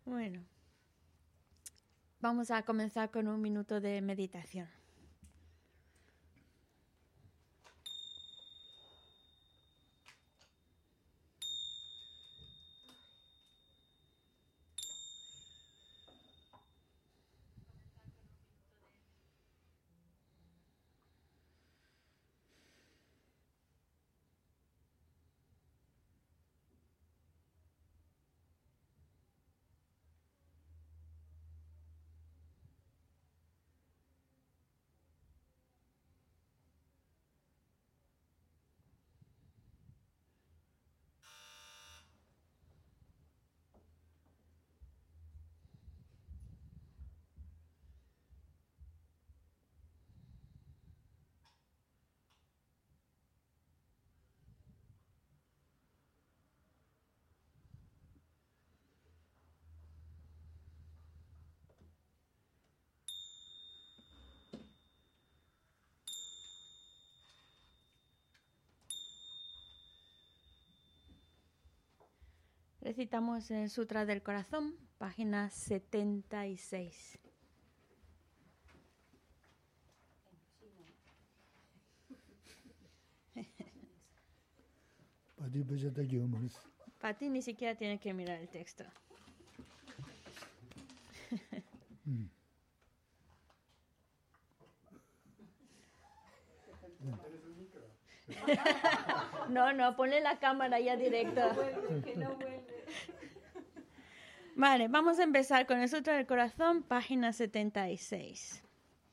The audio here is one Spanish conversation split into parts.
Bueno, vamos a comenzar con un minuto de meditación. Recitamos el Sutra del Corazón, página 76. Pati ni siquiera tiene que mirar el texto. No, ponle la cámara ya directo. Vale, vamos a empezar con el Sutra del Corazón, página 76.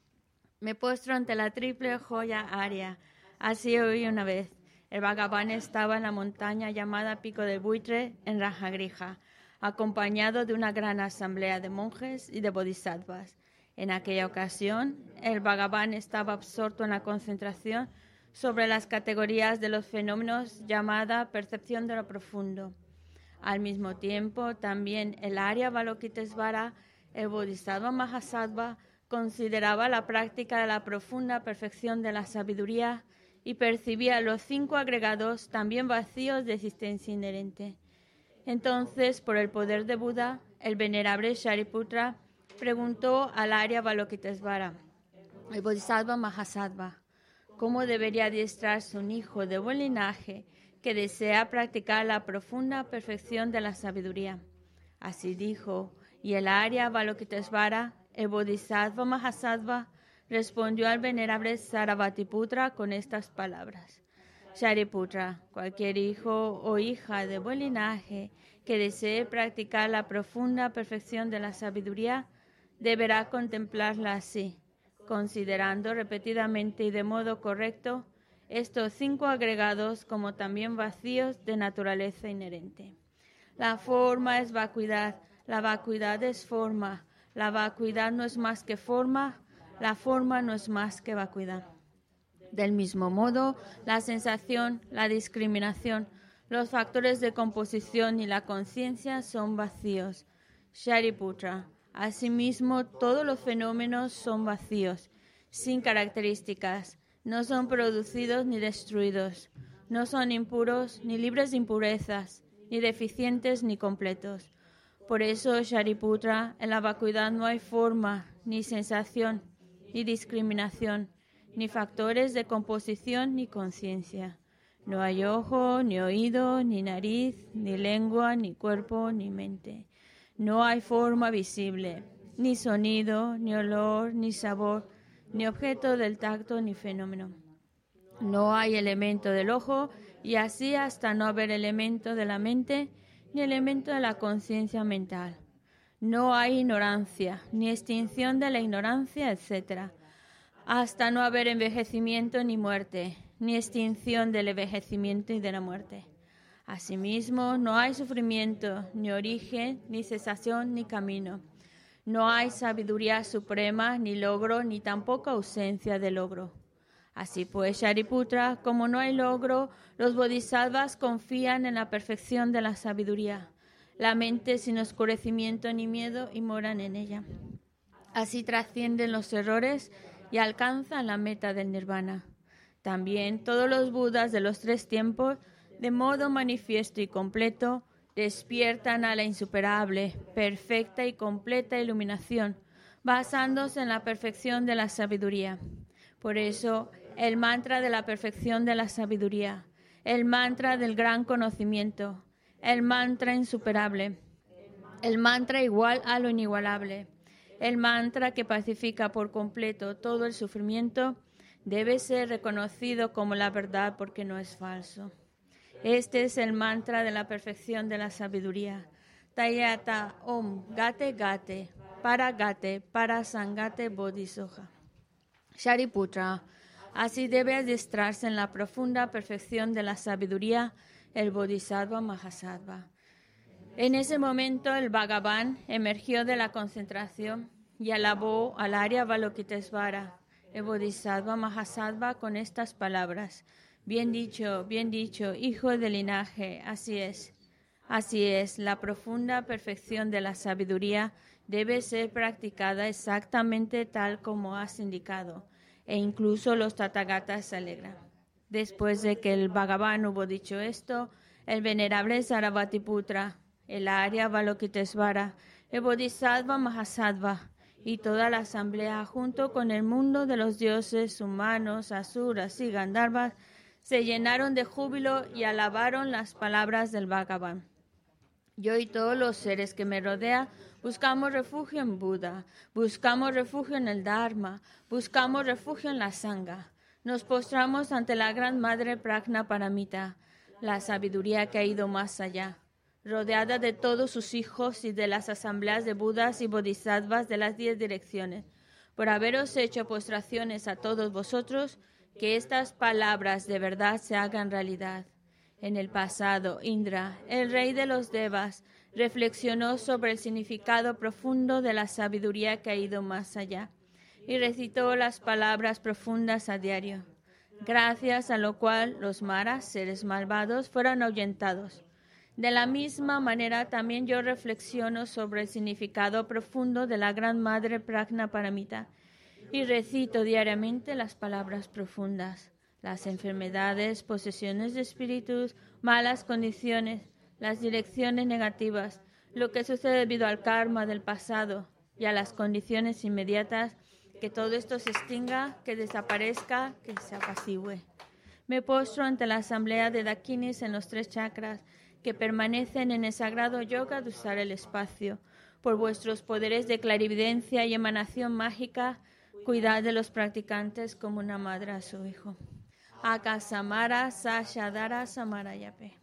Me postro ante la triple joya Arya. Así oí una vez. El Bhagavan estaba en la montaña llamada Pico del Buitre, en Rajagrija, acompañado de una gran asamblea de monjes y de bodhisattvas. En aquella ocasión, el Bhagavan estaba absorto en la concentración sobre las categorías de los fenómenos llamada percepción de lo profundo. Al mismo tiempo, también el Arya Avalokitesvara, el Bodhisattva Mahasattva, consideraba la práctica de la profunda perfección de la sabiduría y percibía los 5 agregados también vacíos de existencia inherente. Entonces, por el poder de Buda, el venerable Shariputra preguntó al Arya Avalokitesvara, el Bodhisattva Mahasattva, ¿cómo debería adiestrarse un hijo de buen linaje que desea practicar la profunda perfección de la sabiduría? Así dijo, y el Arya Avalokitesvara, el Bodhisattva Mahasattva, respondió al venerable Sarabhatiputra con estas palabras. Shariputra, cualquier hijo o hija de buen linaje que desee practicar la profunda perfección de la sabiduría, deberá contemplarla así, considerando repetidamente y de modo correcto estos 5 agregados como también vacíos de naturaleza inherente. La forma es vacuidad, la vacuidad es forma, la vacuidad no es más que forma, la forma no es más que vacuidad. Del mismo modo, la sensación, la discriminación, los factores de composición y la conciencia son vacíos. Shariputra, asimismo, todos los fenómenos son vacíos, sin características, no son producidos ni destruidos, no son impuros ni libres de impurezas, ni deficientes ni completos. Por eso, Shariputra, en la vacuidad no hay forma, ni sensación, ni discriminación, ni factores de composición ni conciencia. No hay ojo, ni oído, ni nariz, ni lengua, ni cuerpo, ni mente. No hay forma visible, ni sonido, ni olor, ni sabor, ni objeto del tacto, ni fenómeno. No hay elemento del ojo, y así hasta no haber elemento de la mente, ni elemento de la conciencia mental. No hay ignorancia, ni extinción de la ignorancia, etc., hasta no haber envejecimiento ni muerte, ni extinción del envejecimiento y de la muerte. Asimismo, no hay sufrimiento, ni origen, ni cesación, ni camino. No hay sabiduría suprema, ni logro, ni tampoco ausencia de logro. Así pues, Shariputra, como no hay logro, los bodhisattvas confían en la perfección de la sabiduría, la mente sin oscurecimiento ni miedo y moran en ella. Así trascienden los errores y alcanzan la meta del nirvana. También todos los budas de los 3 tiempos, de modo manifiesto y completo, despiertan a la insuperable, perfecta y completa iluminación, basándose en la perfección de la sabiduría. Por eso, el mantra de la perfección de la sabiduría, el mantra del gran conocimiento, el mantra insuperable, el mantra igual a lo inigualable, el mantra que pacifica por completo todo el sufrimiento, debe ser reconocido como la verdad porque no es falso. Este es el mantra de la perfección de la sabiduría. Tayata Om Gate Gate para Sangate Bodhisoja. Shariputra, así debe adiestrarse en la profunda perfección de la sabiduría el Bodhisattva Mahasattva. En ese momento el Bhagavan emergió de la concentración y alabó al Arya Avalokitesvara, el Bodhisattva Mahasattva, con estas palabras: bien dicho, hijo del linaje, así es. Así es, la profunda perfección de la sabiduría debe ser practicada exactamente tal como has indicado, e incluso los Tathagatas se alegran. Después de que el Bhagavan hubo dicho esto, el venerable Sarabhatiputra, el Arya Avalokitesvara, el Bodhisattva Mahasattva y toda la asamblea, junto con el mundo de los dioses humanos, asuras y gandharvas, se llenaron de júbilo y alabaron las palabras del Bhagavan. Yo y todos los seres que me rodean buscamos refugio en Buda, buscamos refugio en el Dharma, buscamos refugio en la Sangha. Nos postramos ante la Gran Madre Prajna Paramita, la sabiduría que ha ido más allá, rodeada de todos sus hijos y de las asambleas de Budas y Bodhisattvas de las 10 direcciones. Por haberos hecho postraciones a todos vosotros, que estas palabras de verdad se hagan realidad. En el pasado, Indra, el rey de los Devas, reflexionó sobre el significado profundo de la sabiduría que ha ido más allá y recitó las palabras profundas a diario, gracias a lo cual los maras, seres malvados, fueron ahuyentados. De la misma manera, también yo reflexiono sobre el significado profundo de la Gran Madre Prajna Paramita y recito diariamente las palabras profundas. Las enfermedades, posesiones de espíritus, malas condiciones, las direcciones negativas, lo que sucede debido al karma del pasado y a las condiciones inmediatas, que todo esto se extinga, que desaparezca, que se apacigüe. Me postro ante la asamblea de Dakinis en los 3 chakras, que permanecen en el sagrado yoga de usar el espacio. Por vuestros poderes de clarividencia y emanación mágica, cuidad de los practicantes como una madre a su hijo. Akasamara Sashadara Samarayape.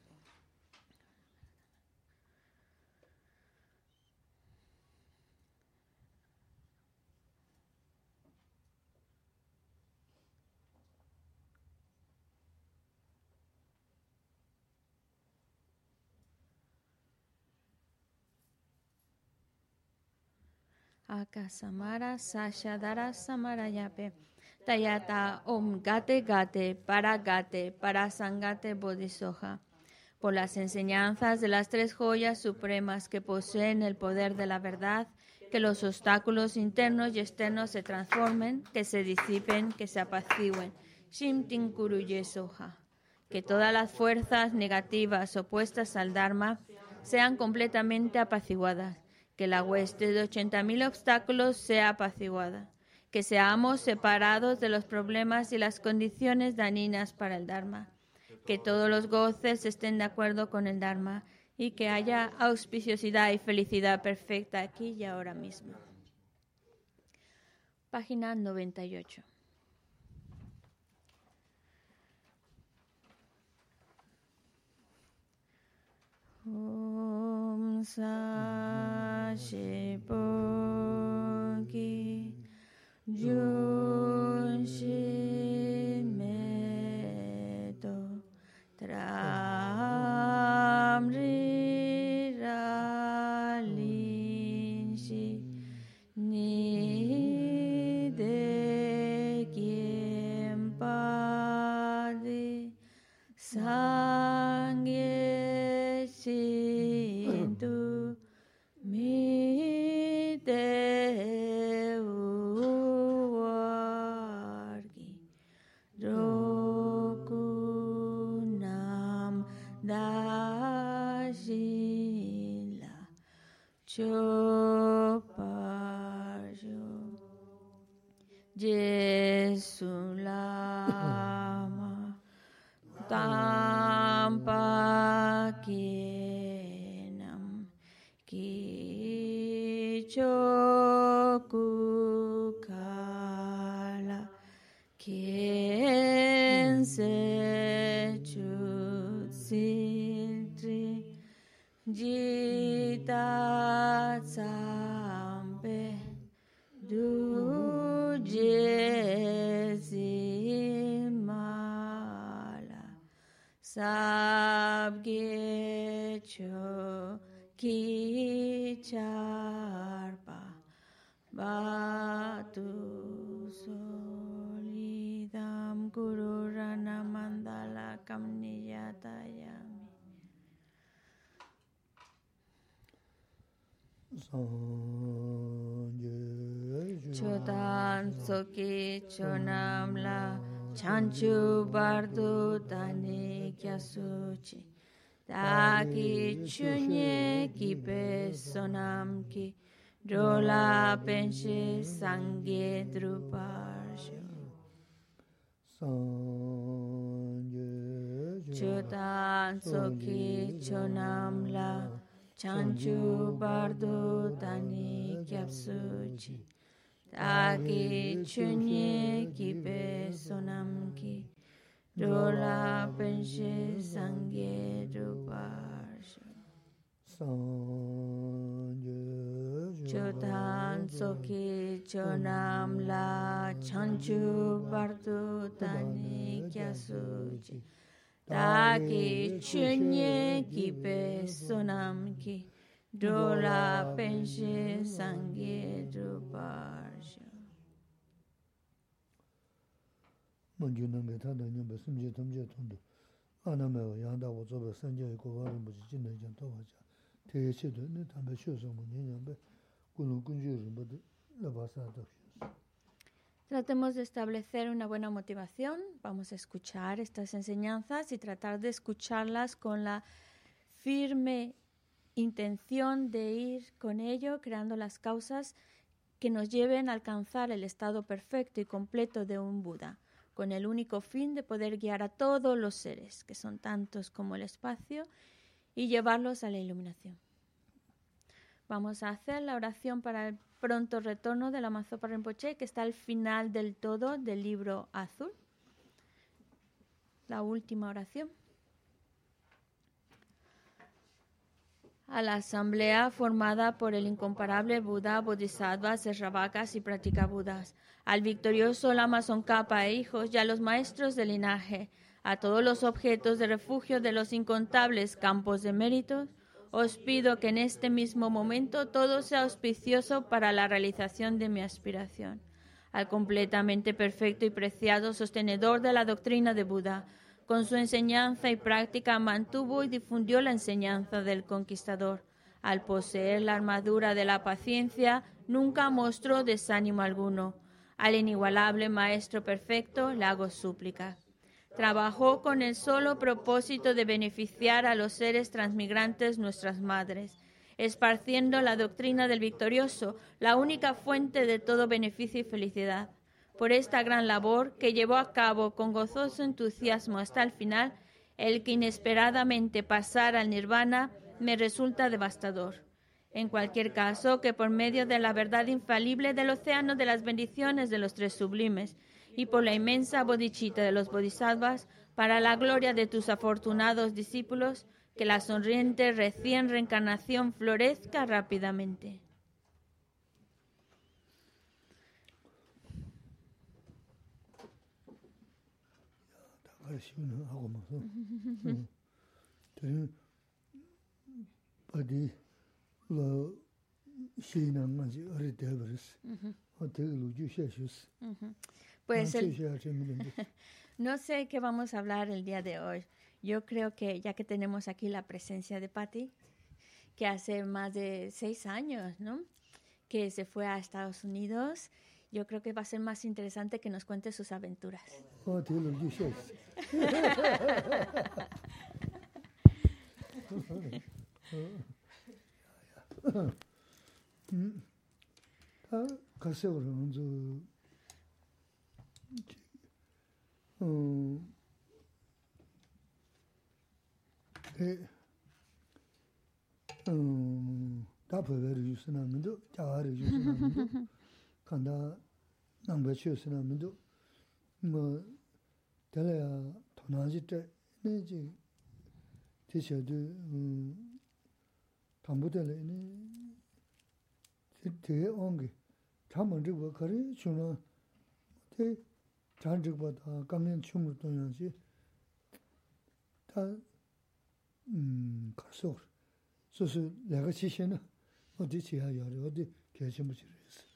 Akasamara Sashadara Samarayape. Tayata Om Gate Gate para Sangate Bodhisoja. Por las enseñanzas de las 3 joyas supremas que poseen el poder de la verdad, que los obstáculos internos y externos se transformen, que se disipen, que se apacigüen. Shimtin Kuruye Soja. Que todas las fuerzas negativas opuestas al Dharma sean completamente apaciguadas. Que la hueste de 80.000 obstáculos sea apaciguada. Que seamos separados de los problemas y las condiciones dañinas para el Dharma. Que todos los goces estén de acuerdo con el Dharma y que haya auspiciosidad y felicidad perfecta aquí y ahora mismo. Página 98. Om Sashipoki Junshimeto Tramri Ralinshi Nide Kiempadi Sangye Shintu Mide Choparjo Jesulama Tampa Kinam Kichokukala Kiense Chutsiltri Jita Tsampe Dujezimala Sabgecho Kicharpa Batu Solidam Gururana Mandala Kamniyatayami Chodan Soki Chonamla Chanchu Bardu Tani Kyasuchi Taki Chunye Kipe Sonamki Drola Penche Sangye Druparsho Chodan Soki Chonamla Chanchu Bardu Tani Kyapsuchi Taki Chunye Kipe Sonamki Dola Penche Sangye Druparsho Chodan Soki Chonam La Chanchu Bardu Tani Kyasuchi Taki Chunye Kipe Sonamki Dola Penche Sangye Druparsho Tratemos de establecer una buena motivación. Vamos a escuchar estas enseñanzas y tratar de escucharlas con la firme intención de ir con ello, creando las causas que nos lleven a alcanzar el estado perfecto y completo de un Buda, con el único fin de poder guiar a todos los seres, que son tantos como el espacio, y llevarlos a la iluminación. Vamos a hacer la oración para el pronto retorno de Lama Zopa Rinpoche, que está al final del todo del libro azul. La última oración. A la asamblea formada por el incomparable Buda, Bodhisattvas, Sravakas y Pratikabudas, al victorioso Lama Tsongkhapa e hijos y a los maestros del linaje, a todos los objetos de refugio de los incontables campos de méritos, os pido que en este mismo momento todo sea auspicioso para la realización de mi aspiración. Al completamente perfecto y preciado sostenedor de la doctrina de Buda, con su enseñanza y práctica mantuvo y difundió la enseñanza del conquistador. Al poseer la armadura de la paciencia, nunca mostró desánimo alguno. Al inigualable Maestro Perfecto le hago súplica. Trabajó con el solo propósito de beneficiar a los seres transmigrantes nuestras madres, esparciendo la doctrina del victorioso, la única fuente de todo beneficio y felicidad. Por esta gran labor que llevó a cabo con gozoso entusiasmo hasta el final, el que inesperadamente pasara al nirvana me resulta devastador. En cualquier caso, que por medio de la verdad infalible del océano de las bendiciones de los tres sublimes y por la inmensa bodhicitta de los bodhisattvas, para la gloria de tus afortunados discípulos, que la sonriente recién reencarnación florezca rápidamente. Pues no sé qué vamos a hablar el día de hoy. Yo creo que ya que tenemos aquí la presencia de Patti, que hace más de 6 años, ¿no?, que se fue a Estados Unidos, yo creo que va a ser más interesante que nos cuente sus aventuras. 다 가세오는 다 벌을 유스나면도 자아를 유스나면도 간다 남배치였으나면도 뭐 달라야 도나지 때 내지 대셔도 담보들에는 되게 온게 잠은지고 그래 주는 대 잔적보다 강년 충을 동양시 다 가서 소소 내가 지시는 어디 지하요 어디 결심을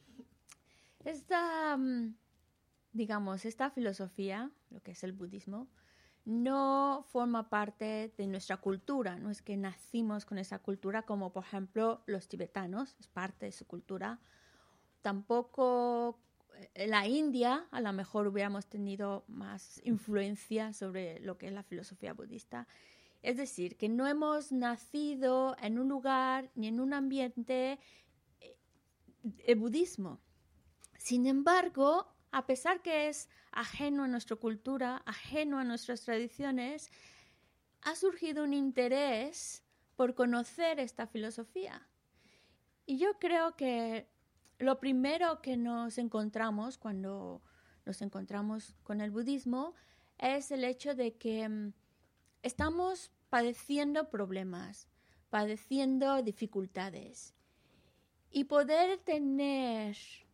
Digamos, esta filosofía, lo que es el budismo, no forma parte de nuestra cultura. No es que nacimos con esa cultura como, por ejemplo, los tibetanos, es parte de su cultura. Tampoco en la India, a lo mejor hubiéramos tenido más influencia sobre lo que es la filosofía budista. Es decir, que no hemos nacido en un lugar ni en un ambiente de budismo. Sin embargo, a pesar que es ajeno a nuestra cultura, ajeno a nuestras tradiciones, ha surgido un interés por conocer esta filosofía. Y yo creo que lo primero que nos encontramos cuando nos encontramos con el budismo es el hecho de que estamos padeciendo problemas, padeciendo dificultades. Y poder tener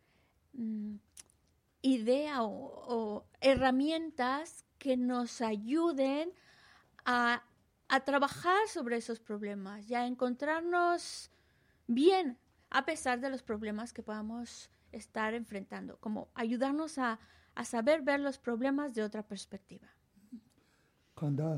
idea o herramientas que nos ayuden a trabajar sobre esos problemas y a encontrarnos bien a pesar de los problemas que podamos estar enfrentando, como ayudarnos a saber ver los problemas de otra perspectiva. Cuando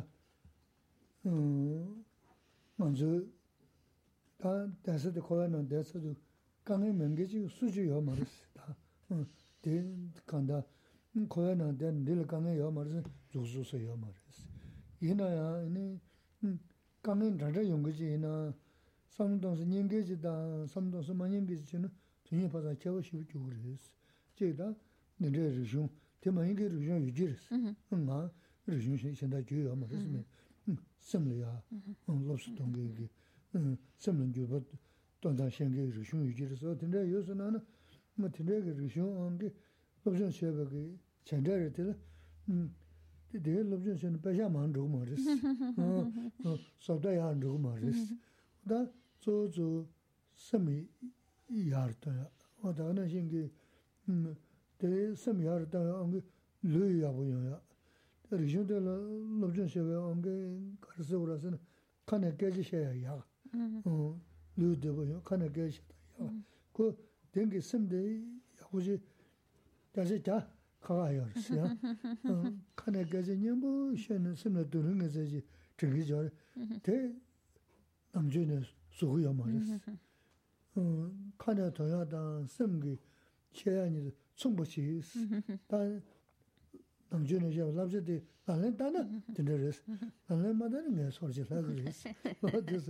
간다 고야나 된 릴강에 요 말은 조수서요 말이스 이나야 이 강은 다들 용거지나 삼동스 닝게지다 삼동스 만닝게지는 전혀 받아 채워 쉬고 그랬어 제가 내려 리중 대만이게 리중 유지스 응아 리중 현在就有말이스 섬려야 로스 동게게 섬는 주버 돈다 생게 리중 유지서 근데 요새는 뭐 되게 리중 게 롭션 쉐버게 전자를 되게 롭션 쉐는 배샤만 줘 말이스 소다야 안 줘 말이스 다 조조 섬이 야르다 어다는 신기 대 섬이 야르다 안 르야 보여야 리중들 롭션 쉐버 안게 가르서 그래서는 칸에 깨지셔야 야 르드 보여 칸에 깨지셔야 그 dengue semde yakuji 다시 다 가요. 칸에 가지냐고 셴은 semde 두는 거지. 저기 저 대 남주는 소고야 말이스. 칸에 더야다 sem기 체안이 충분히 단 남주는 저 랍제데 나는 다나 되는스. 나는 마다는 내 소리를 하그리스. 어디서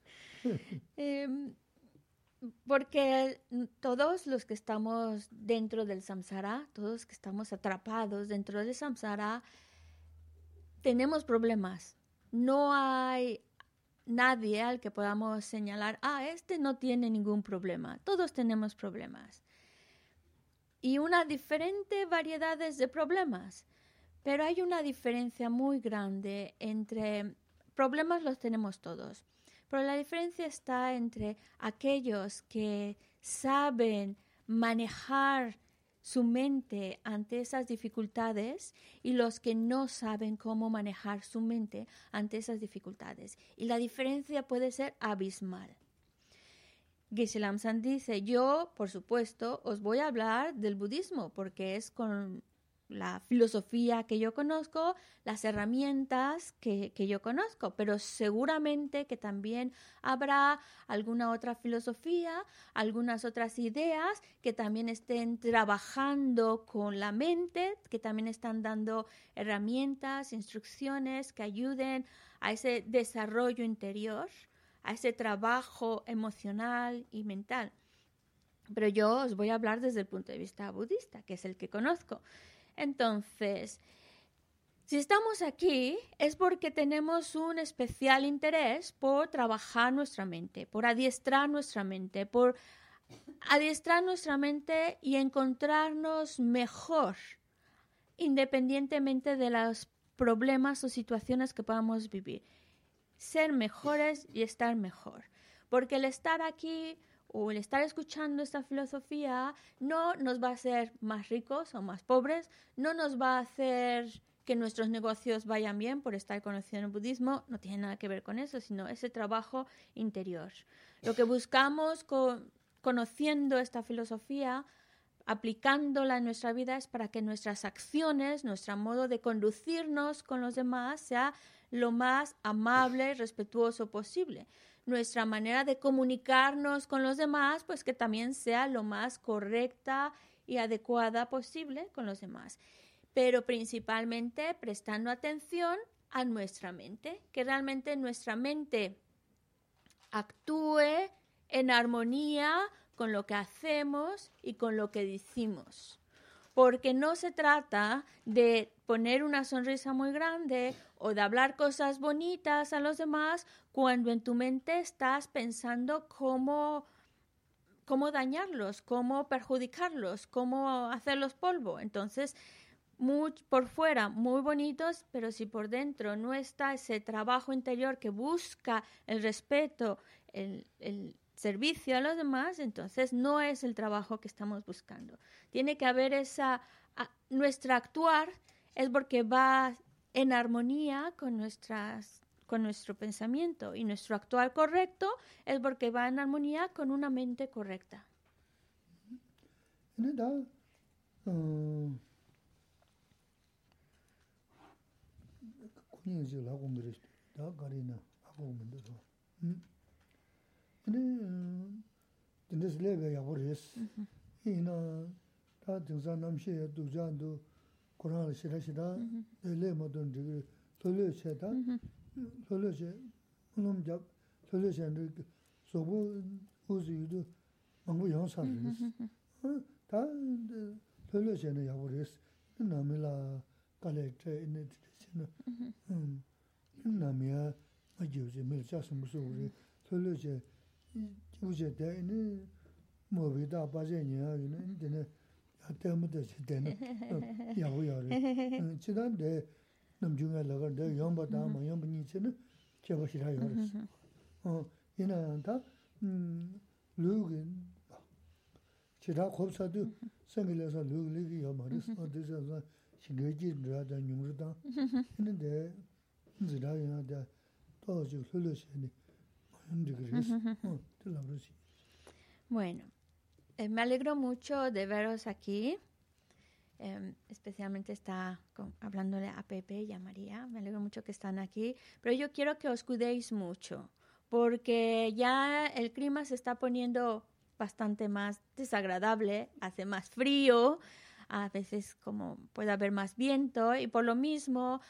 Porque todos los que estamos dentro del samsara, todos que estamos atrapados dentro del samsara, tenemos problemas. No hay nadie al que podamos señalar, este no tiene ningún problema. Todos tenemos problemas. Y una diferente variedades de problemas. Pero hay una diferencia muy grande entre problemas los tenemos todos. Pero la diferencia está entre aquellos que saben manejar su mente ante esas dificultades y los que no saben cómo manejar su mente ante esas dificultades. Y la diferencia puede ser abismal. Geshe Lamsan dice, yo, por supuesto, os voy a hablar del budismo porque es con la filosofía que yo conozco, las herramientas que yo conozco, pero seguramente que también habrá alguna otra filosofía, algunas otras ideas que también estén trabajando con la mente, que también están dando herramientas, instrucciones que ayuden a ese desarrollo interior, a ese trabajo emocional y mental. Pero yo os voy a hablar desde el punto de vista budista, que es el que conozco. Entonces, si estamos aquí es porque tenemos un especial interés por trabajar nuestra mente, por adiestrar nuestra mente, y encontrarnos mejor, independientemente de los problemas o situaciones que podamos vivir. Ser mejores y estar mejor. Porque el estar aquí o el estar escuchando esta filosofía no nos va a hacer más ricos o más pobres, no nos va a hacer que nuestros negocios vayan bien por estar conociendo el budismo, no tiene nada que ver con eso, sino ese trabajo interior. Lo que buscamos conociendo esta filosofía, aplicándola en nuestra vida, es para que nuestras acciones, nuestro modo de conducirnos con los demás sea lo más amable y respetuoso posible. Nuestra manera de comunicarnos con los demás, pues que también sea lo más correcta y adecuada posible con los demás. Pero principalmente prestando atención a nuestra mente, que realmente nuestra mente actúe en armonía con lo que hacemos y con lo que decimos. Porque no se trata de poner una sonrisa muy grande o de hablar cosas bonitas a los demás cuando en tu mente estás pensando cómo dañarlos, cómo perjudicarlos, cómo hacerlos polvo. Entonces, por fuera muy bonitos, pero si por dentro no está ese trabajo interior que busca el respeto, el servicio a los demás, entonces no es el trabajo que estamos buscando. Tiene que haber nuestra actuar es porque va en armonía con nuestro pensamiento, y nuestro actuar correcto es porque va en armonía con una mente correcta. Bueno, me alegro mucho de veros aquí. Especialmente está hablándole a Pepe y a María. Me alegro mucho que están aquí. Pero yo quiero que os cuidéis mucho, porque ya el clima se está poniendo bastante más desagradable, hace más frío, a veces como puede haber más viento, y por lo mismo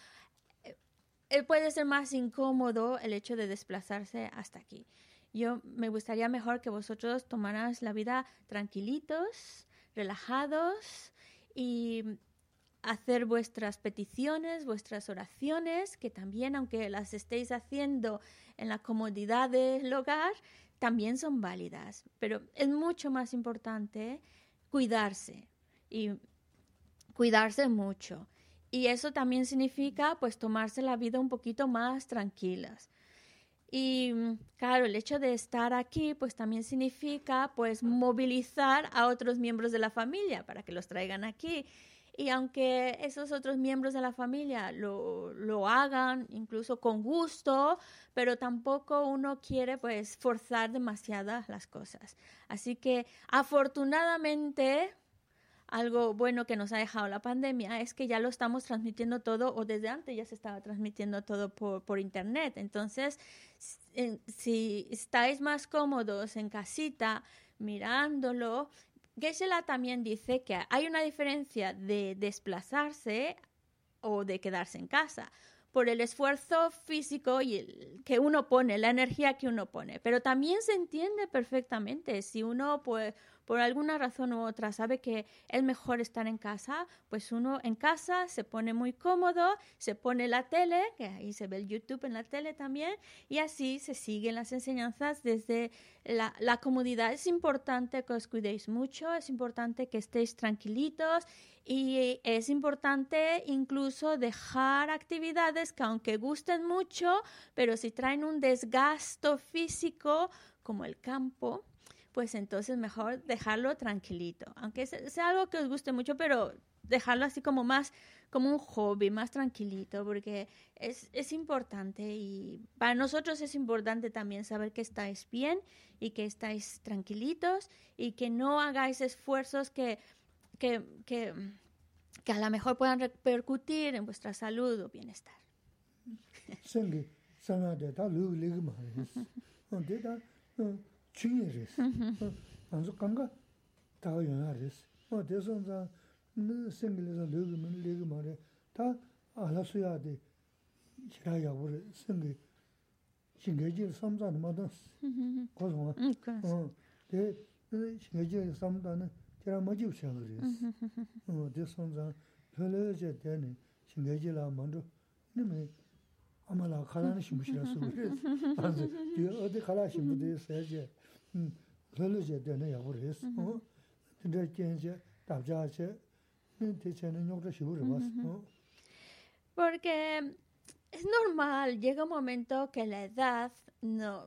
puede ser más incómodo el hecho de desplazarse hasta aquí. Yo me gustaría mejor que vosotros tomarais la vida tranquilitos, relajados, y hacer vuestras peticiones, vuestras oraciones, que también, aunque las estéis haciendo en la comodidad del hogar, también son válidas. Pero es mucho más importante cuidarse, y cuidarse mucho. Y eso también significa, pues, tomarse la vida un poquito más tranquilas. Y claro, el hecho de estar aquí pues también significa pues movilizar a otros miembros de la familia para que los traigan aquí. Y aunque esos otros miembros de la familia lo hagan incluso con gusto, pero tampoco uno quiere pues forzar demasiadas las cosas. Así que afortunadamente, algo bueno que nos ha dejado la pandemia es que ya lo estamos transmitiendo todo, o desde antes ya se estaba transmitiendo todo por internet. Entonces, si estáis más cómodos en casita mirándolo, Geshe-la también dice que hay una diferencia de desplazarse o de quedarse en casa por el esfuerzo físico y que uno pone, la energía que uno pone. Pero también se entiende perfectamente si uno pues por alguna razón u otra sabe que es mejor estar en casa, pues uno en casa se pone muy cómodo, se pone la tele, que ahí se ve el YouTube en la tele también, y así se siguen las enseñanzas desde la comodidad. Es importante que os cuidéis mucho, es importante que estéis tranquilitos y es importante incluso dejar actividades que aunque gusten mucho, pero si traen un desgasto físico como el campo, pues entonces mejor dejarlo tranquilito. Aunque sea algo que os guste mucho, pero dejarlo así como más como un hobby, más tranquilito, porque es importante y para nosotros es importante también saber que estáis bien y que estáis tranquilitos y que no hagáis esfuerzos que a lo mejor puedan repercutir en vuestra salud o bienestar. 아마라 칼라는 심부시라서 그래서 어디 칼라심부터 세제 별로제 되네 야고래서 근데 이제 답자체 대체는 요거 시부를 봤어. Porque es normal, llega un momento que la edad no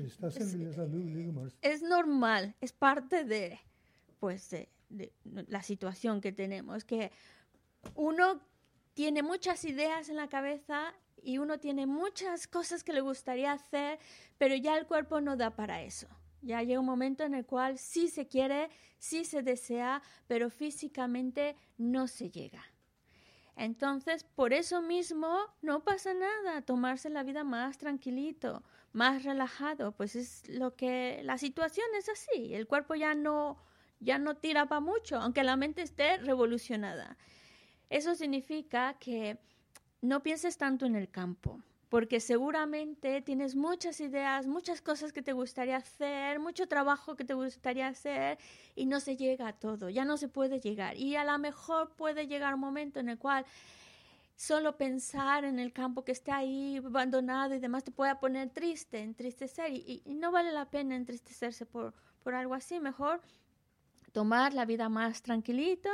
es normal, es parte de pues de la situación que tenemos, que uno tiene muchas ideas en la cabeza y uno tiene muchas cosas que le gustaría hacer, pero ya el cuerpo no da para eso. Ya llega un momento en el cual sí se quiere, sí se desea, pero físicamente no se llega. Entonces, por eso mismo, no pasa nada, tomarse la vida más tranquilito, más relajado, pues es lo que, la situación es así, el cuerpo ya no tira para mucho, aunque la mente esté revolucionada. Eso significa que no pienses tanto en el campo, porque seguramente tienes muchas ideas, muchas cosas que te gustaría hacer, mucho trabajo que te gustaría hacer y no se llega a todo, ya no se puede llegar. Y a lo mejor puede llegar un momento en el cual solo pensar en el campo que está ahí abandonado y demás te puede poner triste, entristecer y no vale la pena entristecerse por algo así. Mejor tomar la vida más tranquilita.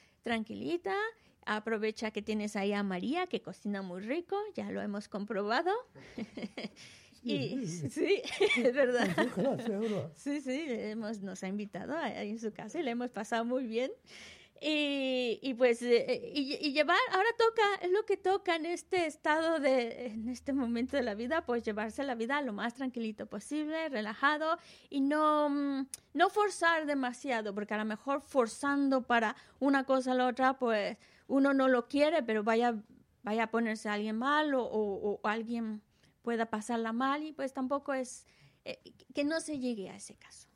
Aprovecha que tienes ahí a María, que cocina muy rico, ya lo hemos comprobado. Y sí, es verdad. Sí, nos ha invitado ahí en su casa y le hemos pasado muy bien. Y pues, y llevar, ahora es lo que toca en este estado en este momento de la vida, pues llevarse la vida lo más tranquilito posible, relajado y no forzar demasiado, porque a lo mejor forzando para una cosa o la otra, pues uno no lo quiere, pero vaya a ponerse a alguien mal o alguien pueda pasarla mal y pues tampoco es que no se llegue a ese caso.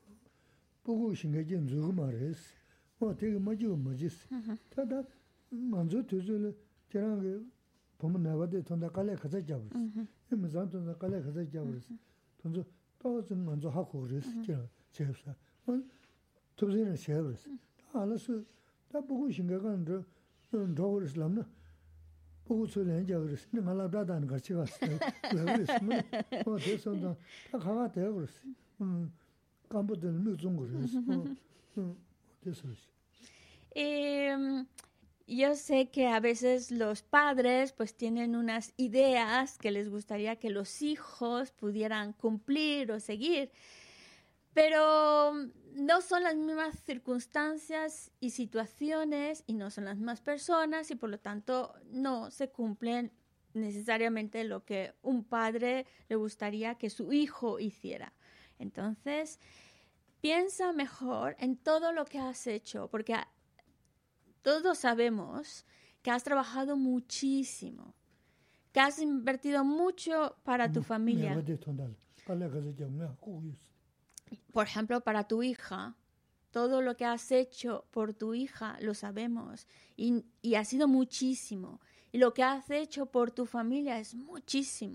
되게 뭐지. 다다 먼저 되줄 저랑 보면 나와도 돈다 깔래 가서 잡을. 이면서 돈다 깔래 가서 잡을. 돈도 또 먼저 하고 그랬어. 제가 도저히 쉐어를. 알아서 다 보고 생각하는 저 저걸 있으면 보고 소리는 저걸 있으면 말라다는 같이 갔어. 그래서 됐어. 다 가가 되어 그랬어. 깜부들 무슨 그랬어. 됐어. Yo sé que a veces los padres pues tienen unas ideas que les gustaría que los hijos pudieran cumplir o seguir, pero no son las mismas circunstancias y situaciones y no son las mismas personas y por lo tanto no se cumplen necesariamente lo que un padre le gustaría que su hijo hiciera. Entonces, piensa mejor en todo lo que has hecho, porque todos sabemos que has trabajado muchísimo, que has invertido mucho para tu familia. Por ejemplo, para tu hija, todo lo que has hecho por tu hija lo sabemos y ha sido muchísimo. Y lo que has hecho por tu familia es muchísimo.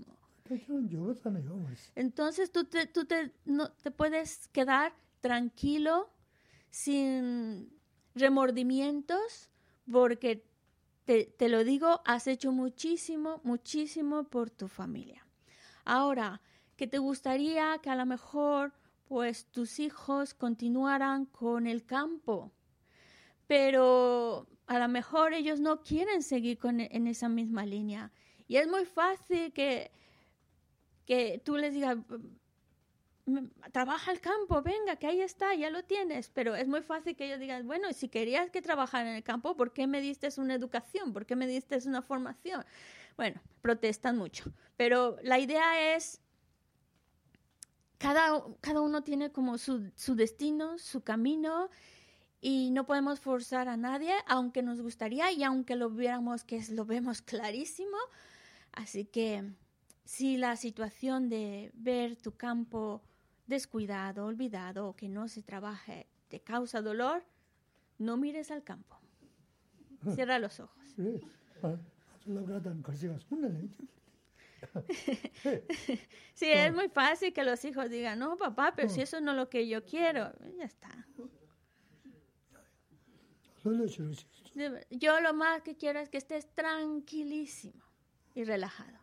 Entonces tú te puedes quedar tranquilo sin remordimientos, porque te lo digo, has hecho muchísimo, muchísimo por tu familia. Ahora, que te gustaría que a lo mejor pues tus hijos continuaran con el campo, pero a lo mejor ellos no quieren seguir en esa misma línea. Y es muy fácil que tú les digas, trabaja el campo, venga, que ahí está, ya lo tienes. Pero es muy fácil que ellos digan, bueno, si querías que trabajara en el campo, ¿por qué me diste una educación? ¿Por qué me diste una formación? Bueno, protestan mucho. Pero la idea es, cada uno tiene como su destino, su camino, y no podemos forzar a nadie, aunque nos gustaría y aunque lo viéramos, que lo vemos clarísimo. Así que si la situación de ver tu campo descuidado, olvidado o que no se trabaje te causa dolor, no mires al campo. Cierra los ojos. Sí, es muy fácil que los hijos digan, no, papá, pero si eso no es lo que yo quiero, ya está. Yo lo más que quiero es que estés tranquilísimo y relajado.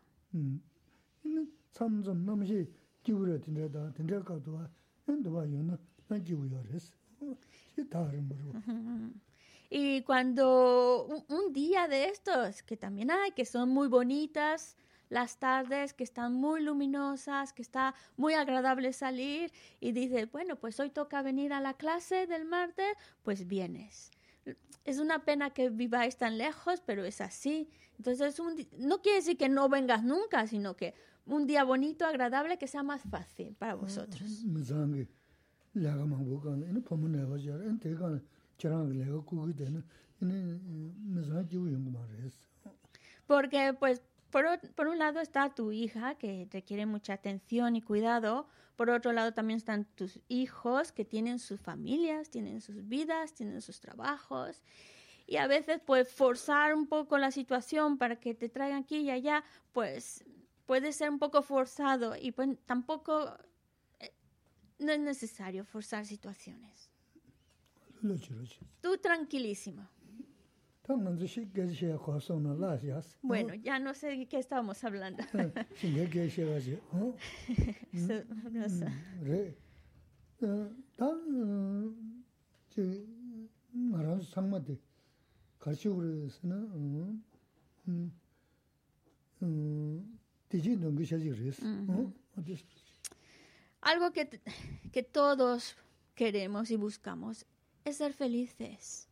Y cuando un día de estos, que también hay, que son muy bonitas, las tardes que están muy luminosas, que está muy agradable salir y dices, bueno, pues hoy toca venir a la clase del martes, pues vienes. Es una pena que viváis tan lejos, pero es así. Entonces, no quiere decir que no vengas nunca, sino que un día bonito, agradable, que sea más fácil para vosotros. Porque, pues, por un lado está tu hija, que requiere mucha atención y cuidado. Por otro lado también están tus hijos, que tienen sus familias, tienen sus vidas, tienen sus trabajos. Y a veces, pues, forzar un poco la situación para que te traigan aquí y allá, pues, puede ser un poco forzado. Y pues tampoco no es necesario forzar situaciones. Tú tranquilísimo. Bueno, ya no sé de qué estábamos hablando. Algo que todos queremos y buscamos es ser felices.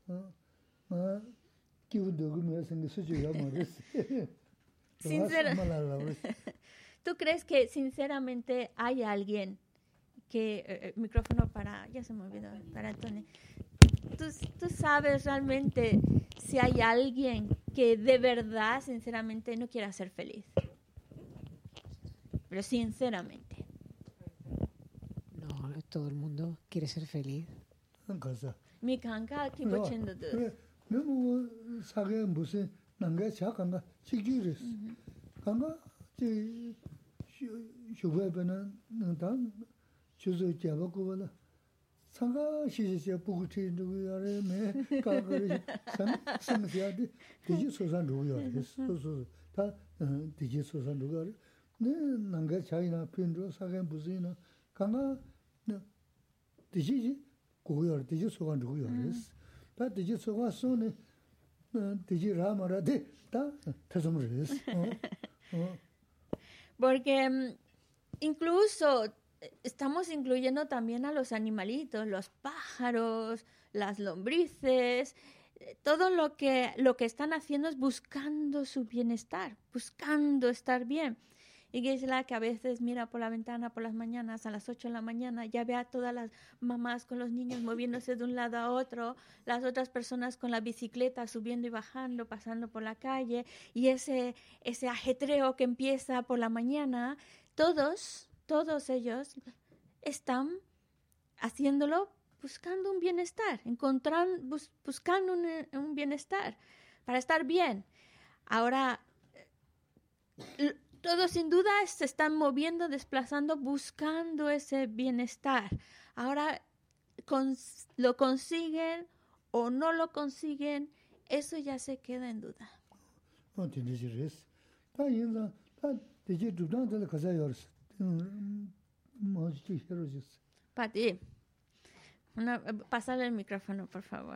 ¿Tú crees que sinceramente hay alguien que... micrófono para... ya se me olvidó, para Antonio. ¿Tú sabes realmente si hay alguien que de verdad, sinceramente, no quiera ser feliz? Pero sinceramente. No, todo el mundo quiere ser feliz. Mi canca aquí pochendo de. Porque incluso estamos incluyendo también a los animalitos, los pájaros, las lombrices, todo lo que están haciendo es buscando su bienestar, buscando estar bien. Y Gisela, que a veces mira por la ventana por las mañanas, a las 8 de la mañana, ya ve a todas las mamás con los niños moviéndose de un lado a otro, las otras personas con la bicicleta subiendo y bajando, pasando por la calle, y ese ajetreo que empieza por la mañana, todos ellos están haciéndolo buscando un bienestar, buscando un bienestar, para estar bien. Ahora, todos sin duda se están moviendo, desplazando, buscando ese bienestar. Ahora, lo consiguen o no lo consiguen, eso ya se queda en duda. 되지리스. 다 인자 다 되지 주단들 가자 요르스. 뭐지 헤로지스. Pati, pásale el micrófono, por favor.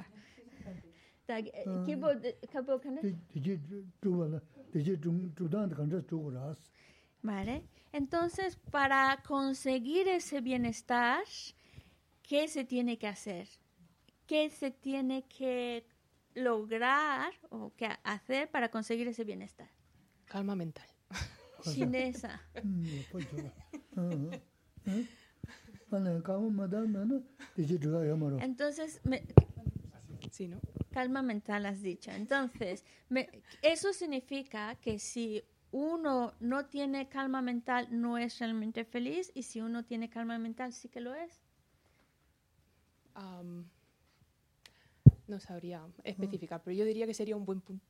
되지 주발라. 되지 주단들 간자 주고라스. Vale. Entonces, para conseguir ese bienestar, ¿qué se tiene que hacer? ¿Qué se tiene que lograr o que hacer para conseguir ese bienestar? Calma mental. Sin esa. Entonces, Sí, ¿no? calma mental has dicho. Entonces, eso significa que si uno no tiene calma mental, no es realmente feliz, y si uno tiene calma mental, sí que lo es. No sabría especificar, pero yo diría que sería un buen punto.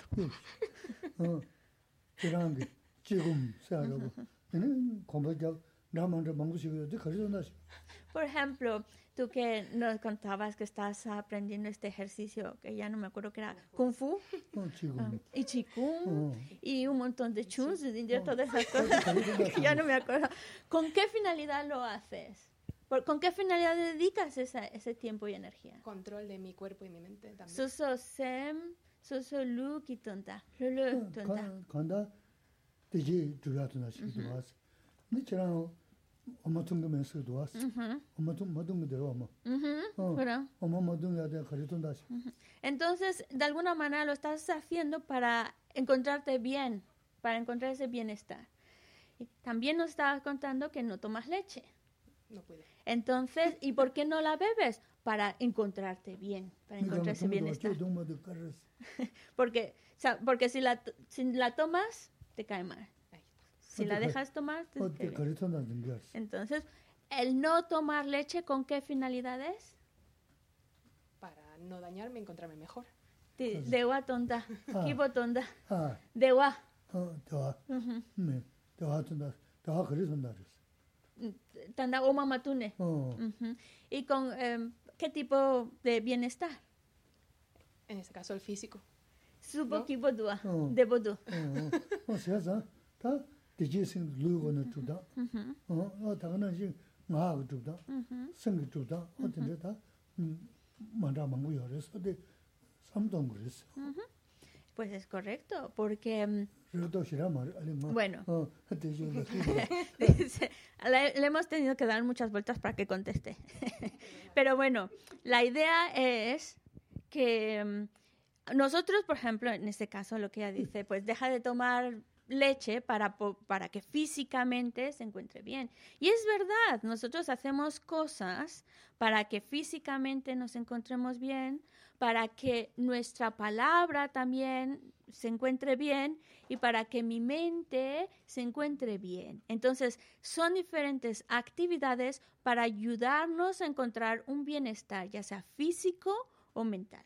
Por ejemplo, tú que nos contabas que estás aprendiendo este ejercicio, que ya no me acuerdo que era Kung Fu, y Qigong, y un montón de Chuns, y todas esas cosas, que ya no me acuerdo. ¿Con qué finalidad lo haces? ¿Con qué finalidad dedicas ese tiempo y energía? Control de mi cuerpo y mi mente también. Suso sem, suso lu ki tonta, lu tonta. 간다 되지 주야도나 시도 왔어. 니처럼 엄마 통금에서도 왔어. 엄마 통 모든 거 들어 엄마. Bueno. 엄마 모든 거 내가 가르쳤다. Entonces, de alguna manera lo estás haciendo para encontrarte bien, para encontrar ese bienestar. Y también nos estabas contando que no tomas leche. No puedo. Entonces, ¿y por qué no la bebes? Para encontrarte bien, para encontrar ese bienestar. Porque si la tomas, te cae mal. Ahí está. Si la dejas tomar, te cae bien. Entonces, el no tomar leche, ¿con qué finalidad es? Para no dañarme, encontrarme mejor. Dewa tonta, kibo tonta, dewa. Tanda o mamatune. ¿Y con qué tipo de bienestar? En este caso, el físico. Subo kibo dua, debo du. O sea, ta deje sin luego no tuda. Tagana ji nga tuda. Sing tuda. O ta manda mangu yores de samdong gres. Pues es correcto, porque bueno, le hemos tenido que dar muchas vueltas para que conteste. Pero bueno, la idea es que nosotros, por ejemplo, en este caso lo que ella dice, pues deja de tomar leche para que físicamente se encuentre bien. Y es verdad, nosotros hacemos cosas para que físicamente nos encontremos bien, para que nuestra palabra también se encuentre bien y para que mi mente se encuentre bien. Entonces, son diferentes actividades para ayudarnos a encontrar un bienestar, ya sea físico o mental.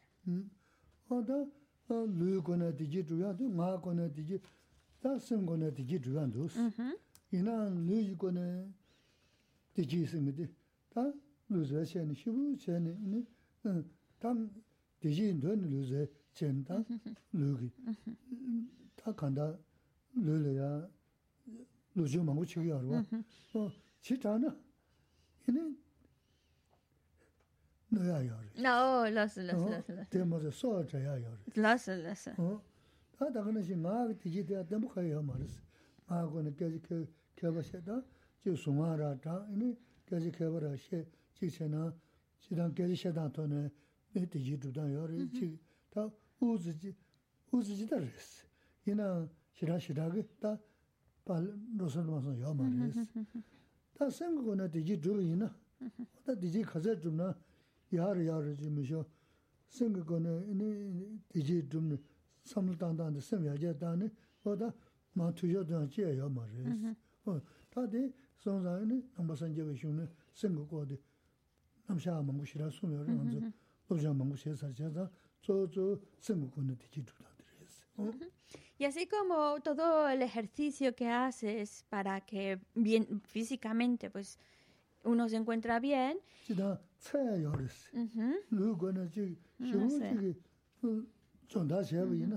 대신 돈 루제 젠다 루기 다 간다 루려야 루죠 망고 치기 알아 치잖아 얘는 너야요 No, los. 때문에 소자야 요 Los. 다 다가는 신가 디지털 때문에 가요 말았어 마고는 계속 개버셔다 저 송아라다 이니 계속 개버라 시 지체나 지단 계속 셔다토네 되지 두다 요리 다 우즈지다 그랬어 이나 시라시라게 다 발로선와서 요 말했어 다 생각은 되지 두이나 다 되지 가자 좀나 야르 지면서 생각은 이니 되지 좀 삼단단의 sem야제다네 보다 마투여도 제요 말했어 다들 sonzayını ambasanca ve şunu sengu kodi namşa mangu şira sunuyor anzo loja mangu şe sarjada zo sengu kodi tikiduladres. Y así como todo el ejercicio que haces para que bien físicamente pues uno se encuentra bien. 지다 차야 요르스. 누구나 지 시부지 전다 제비나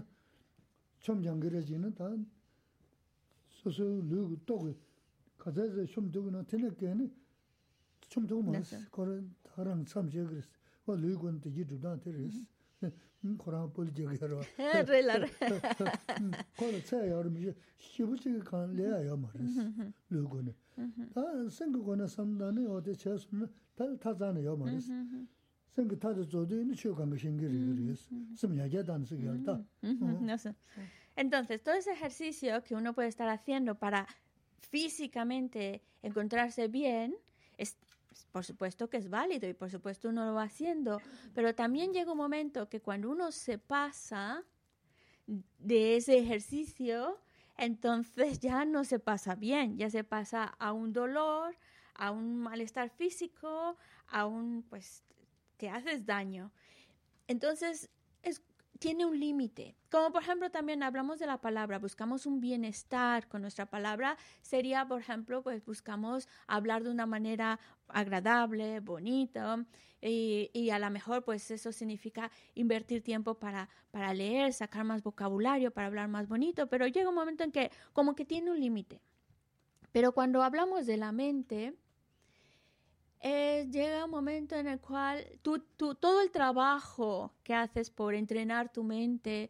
좀 다 소소 누구 또 가자서 좀 두고나 테네께는 좀 두고 말았어. 그런 다른 참 제그랬어. 뭐 누구한테 이주다 테레스. 코라 볼지게로. Relare. 코라 차야 요르미 시부지 간 레야 말았어. 누구는. 다 생각거나 삼단에 어디 제수는 다 타자네 요 말았어. 생각 타도 저도 있는 쇼간 거 신기를 그랬어. 좀 야게단 쓰기다. No sé. Entonces, todo ese ejercicio que uno puede estar haciendo para físicamente encontrarse bien, es, por supuesto que es válido y por supuesto uno lo va haciendo, pero también llega un momento que cuando uno se pasa de ese ejercicio, entonces ya no se pasa bien, ya se pasa a un dolor, a un malestar físico, a un, pues, que haces daño. Entonces, tiene un límite. Como por ejemplo también hablamos de la palabra, buscamos un bienestar con nuestra palabra, sería por ejemplo pues buscamos hablar de una manera agradable, bonita y a lo mejor pues eso significa invertir tiempo para leer, sacar más vocabulario, para hablar más bonito, pero llega un momento en que como que tiene un límite. Pero cuando hablamos de la mente, llega un momento en el cual todo el trabajo que haces por entrenar tu mente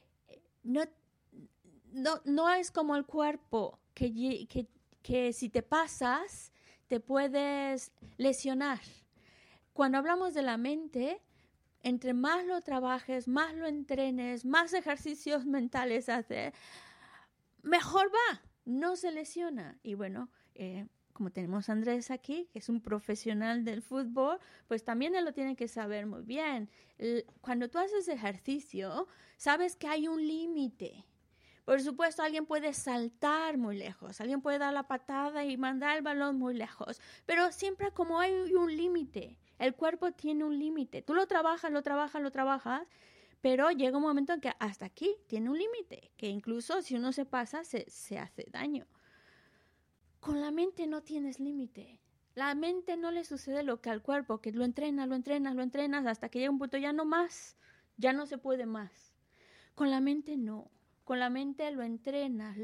no es como el cuerpo, que si te pasas te puedes lesionar. Cuando hablamos de la mente, entre más lo trabajes, más lo entrenes, más ejercicios mentales haces, mejor va, no se lesiona. Y bueno, como tenemos a Andrés aquí, que es un profesional del fútbol, pues también él lo tiene que saber muy bien. Cuando tú haces ejercicio, sabes que hay un límite. Por supuesto, alguien puede saltar muy lejos, alguien puede dar la patada y mandar el balón muy lejos, pero siempre como hay un límite, el cuerpo tiene un límite. Tú lo trabajas, pero llega un momento en que hasta aquí tiene un límite, que incluso si uno se pasa, se hace daño. Con la mente no tienes límite. La mente no le sucede lo que al cuerpo, que lo entrenas hasta que llega un punto ya no más, ya no se puede más. Con la mente no. Con la mente lo entrenas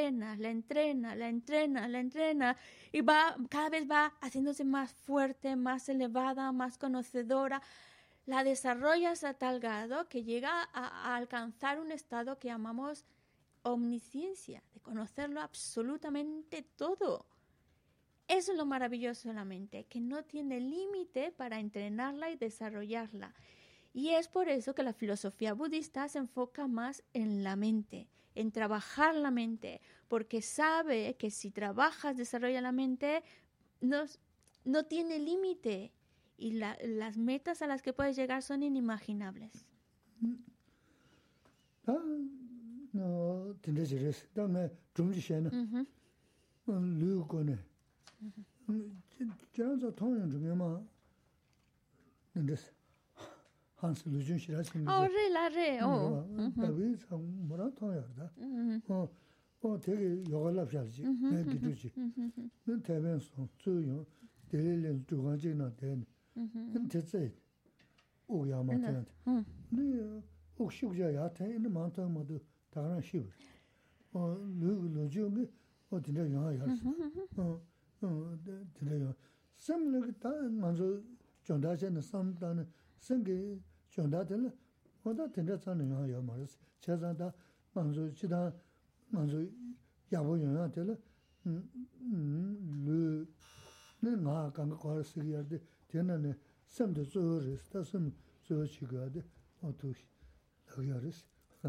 y cada vez va haciéndose más fuerte, más elevada, más conocedora. La desarrollas a tal grado que llega a alcanzar un estado que llamamos omnisciencia, de conocerlo absolutamente todo. Eso es lo maravilloso de la mente, que no tiene límite para entrenarla y desarrollarla. Y es por eso que la filosofía budista se enfoca más en la mente, en trabajar la mente, porque sabe que si trabajas, desarrollas la mente, no tiene límite y las metas a las que puedes llegar son inimaginables. No, tendré que dame 중지시에는 루고네. 저런저 통영 중에만 근데스 한스 루준시라 생각. 다비 참 뭐라 통여다. 되게 요걸랍샤지. 내 기두지. 는 대변소 주요 대리는 주관지나 된. 됐지. 오야마한테. 네 혹시자야한테 있는 많던 모두 다른 시브. 루주미 어디냐 영화야. 들려요. 섬을 다 먼저 전다전의 섬다는 생계 전다들 뭐다 된다잖아요. 영화야 말이지. 제자다 먼저 지다 먼저 야보 영화들 나 간거 거스기야 돼. 되는 섬도 저르스 섬 저치가 돼. 어떻게 여기야르스.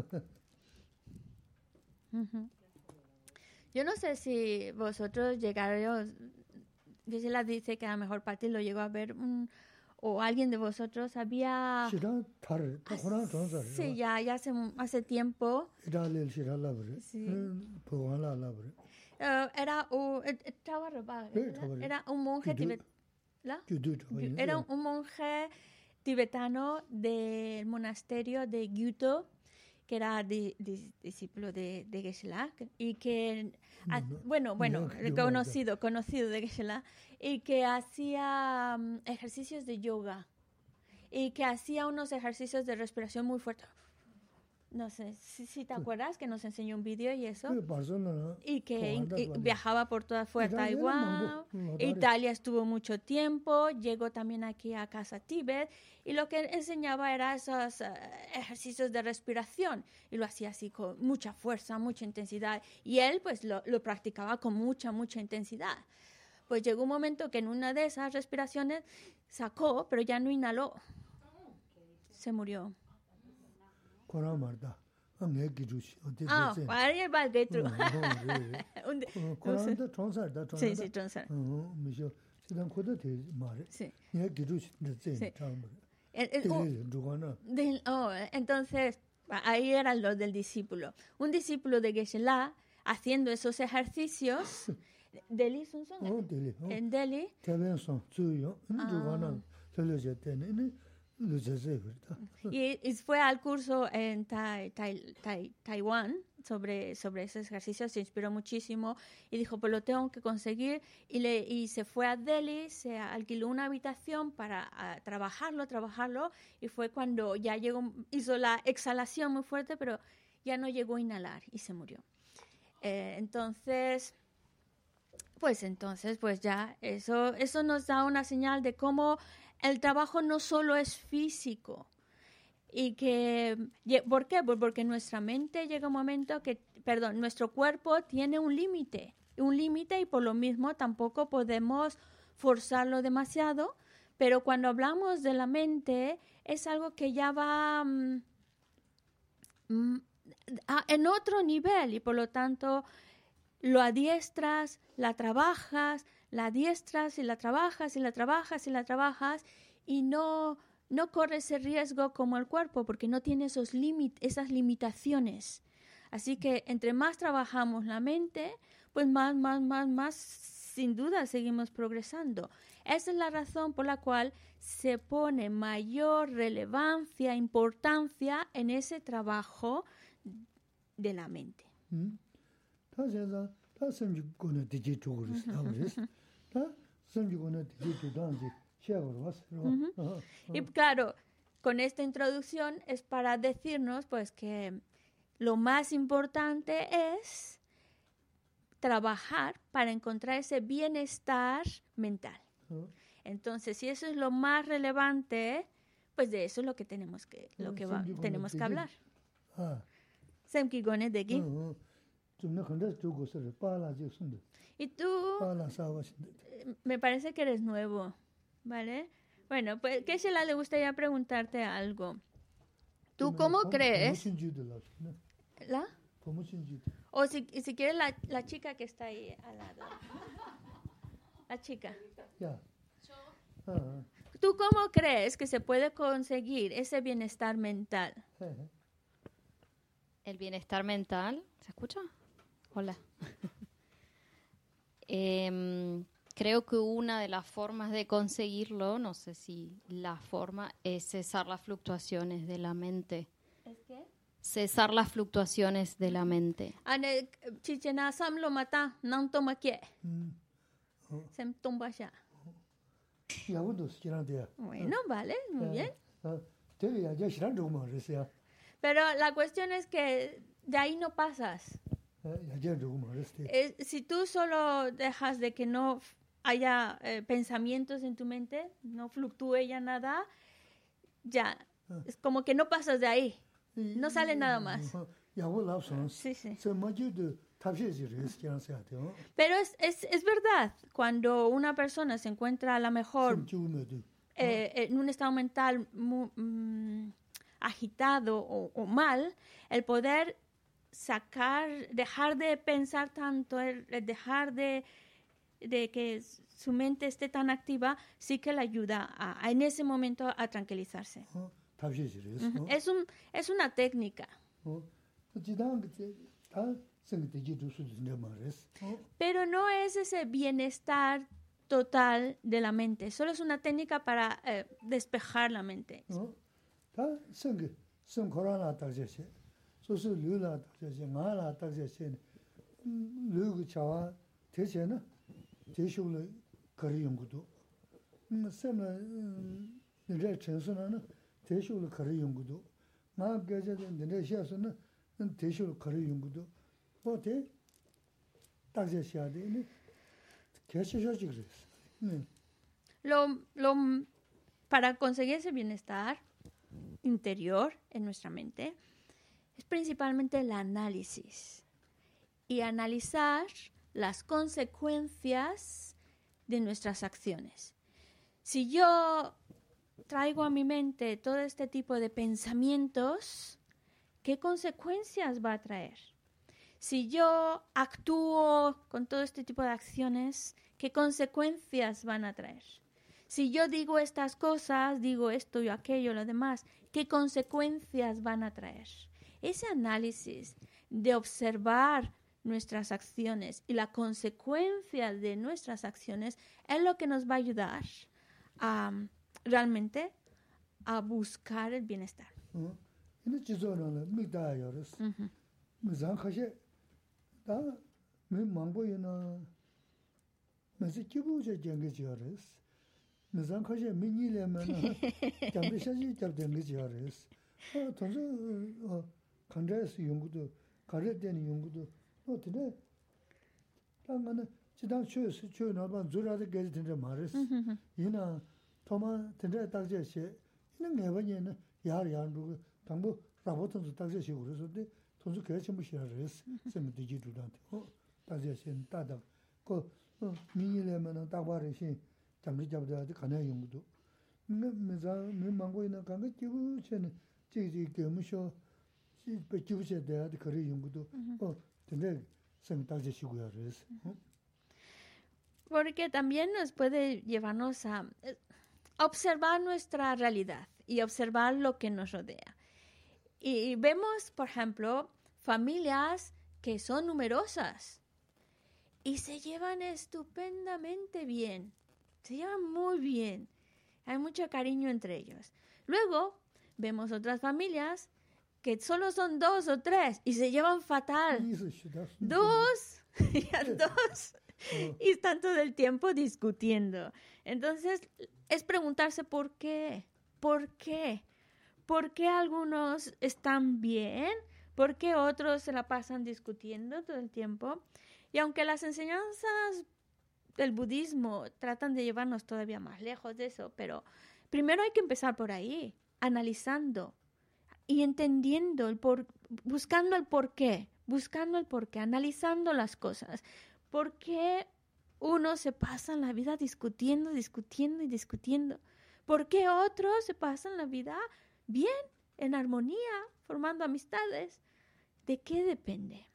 Yo no sé si vosotros llegaron, Gisela dice que a lo mejor Pati lo llegó a ver, o alguien de vosotros había... Sí, ya hace tiempo. Sí. Era un monje tibetano del monasterio de Gyuto. que era discípulo de Geshe-la, y que, bueno, conocido de Geshe-la, y que hacía ejercicios de yoga, y que hacía unos ejercicios de respiración muy fuertes. No sé si te acuerdas que nos enseñó un vídeo y eso. Y que viajaba por toda Taiwán. Italia estuvo mucho tiempo. Llegó también aquí a Casa Tíbet. Y lo que enseñaba era esos ejercicios de respiración. Y lo hacía así con mucha fuerza, mucha intensidad. Y él pues lo practicaba con mucha intensidad. Pues llegó un momento que en una de esas respiraciones sacó, pero ya no inhaló. Se murió. Vaya el Getru. Sí, sí, Tronsar. Sí. Entonces, ahí eran los del discípulo. Un discípulo de Geshe-la haciendo esos ejercicios. ¿Delhi son? En Delhi. Y fue al curso en Taiwán sobre esos ejercicios, se inspiró muchísimo y dijo, pues lo tengo que conseguir, y se fue a Delhi, se alquiló una habitación para trabajarlo, y fue cuando ya hizo la exhalación muy fuerte, pero ya no llegó a inhalar y se murió. Entonces ya eso nos da una señal de cómo el trabajo no solo es físico. ¿Y por qué? Pues porque nuestra mente llega un momento nuestro cuerpo tiene un límite, y por lo mismo tampoco podemos forzarlo demasiado, pero cuando hablamos de la mente es algo que ya va en otro nivel, y por lo tanto lo adiestras, la trabajas, la adiestras y la trabajas y la trabajas y la trabajas, y no corres ese riesgo como el cuerpo porque no tiene esas limitaciones. Así que entre más trabajamos la mente, pues más sin duda seguimos progresando. Esa es la razón por la cual se pone mayor relevancia, importancia en ese trabajo de la mente. Y claro, con esta introducción es para decirnos pues que lo más importante es trabajar para encontrar ese bienestar mental. Entonces, si eso es lo más relevante, pues de eso es lo que tenemos que hablar. Y tú, me parece que eres nuevo, ¿vale? Bueno, pues Geshe-la le gustaría preguntarte algo. ¿Tú cómo crees? ¿La? O si quieres la chica que está ahí al lado. La chica. ¿Tú cómo crees que se puede conseguir ese bienestar mental? El bienestar mental, ¿se escucha? Hola. Creo que una de las formas de conseguirlo, no sé si la forma, es cesar las fluctuaciones de la mente. ¿Es qué? Cesar las fluctuaciones de la mente. Chichena sam lo mata, no toma qué. Se tumba ya. Bueno, vale, muy bien. Pero la cuestión es que de ahí no pasas. Si tú solo dejas de que no haya pensamientos en tu mente, no fluctúe ya nada, ya, es como que no pasas de ahí, no sale nada más. Sí, sí. Pero es verdad, cuando una persona se encuentra a lo mejor en un estado mental muy, agitado o mal, el poder dejar de pensar tanto, dejar de que su mente esté tan activa, sí que le ayuda en ese momento a tranquilizarse. Es una técnica. Pero no es ese bienestar total de la mente, solo es una técnica para despejar la mente. 소소 류라 딱제 나라 딱제 류고 차와 대체는 대쇼를 거리 연구도 쌤은 이제 전선은 대쇼를 거리 연구도 나 계제된 내 시에서는 대쇼를 거리 연구도 뭐대 딱제 시야 되네 개시셔지 그랬어. Para conseguir ese bienestar interior en nuestra mente es principalmente el análisis y analizar las consecuencias de nuestras acciones. Si yo traigo a mi mente todo este tipo de pensamientos, ¿qué consecuencias va a traer? Si yo actúo con todo este tipo de acciones, ¿qué consecuencias van a traer? Si yo digo estas cosas, digo esto y aquello, lo demás, ¿qué consecuencias van a traer? Ese análisis de observar nuestras acciones y la consecuencia de nuestras acciones es lo que nos va a ayudar a realmente a buscar el bienestar. 지단 최 나반 주라데 게지 된데 말했어. 이나 토마 된데 딱제시 이는 내번에는 야르야르고 당부 라보트도 딱제시 그래서데 돈수 개체 무시하랬어. 쌤도 지도한테. 딱제시 따다. 그 미니레면은 딱바르시 잠리 잡다도 가능 용도. 내가 민망고 있는 간게 기부체는 지지 겸쇼 기부체 대야도 그래 용도. 근데 쌤 딱제시 고야랬어. Porque también nos puede llevarnos a observar nuestra realidad y observar lo que nos rodea. Y vemos, por ejemplo, familias que son numerosas y se llevan estupendamente bien, se llevan muy bien, hay mucho cariño entre ellos. Luego vemos otras familias que solo son 2 o 3 y se llevan fatal. 2 y están todo el tiempo discutiendo. Entonces, es preguntarse por qué. ¿Por qué? ¿Por qué algunos están bien? ¿Por qué otros se la pasan discutiendo todo el tiempo? Y aunque las enseñanzas del budismo tratan de llevarnos todavía más lejos de eso, pero primero hay que empezar por ahí, analizando y entendiendo, buscando el porqué, analizando las cosas. ¿Por qué unos se pasan la vida discutiendo? ¿Por qué otros se pasan la vida bien, en armonía, formando amistades? ¿De qué depende?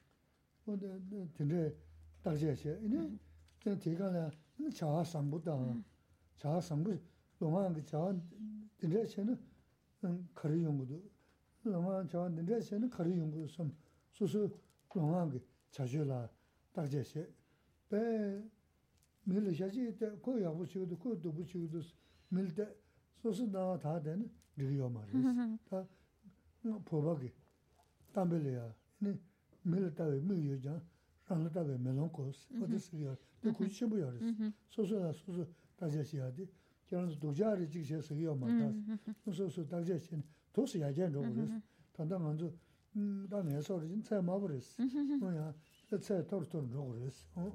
밀르샤지 때 거야 부치고도 그것도 부치고도 밀때 소스나 다 되는 리요 말이야. 다 보박이 담벨이야. 네 밀다에 밀여자 상다에 멜론코스 어디서요. 그 구치부여. 소스나 소스 다제시야디. 저는 도자리 직세서요 말다. 소스 다제시 도스야 전도 그랬어. 단단 먼저 다음에 소리 잘 마버렸어. 뭐야? 저 torto 그랬어.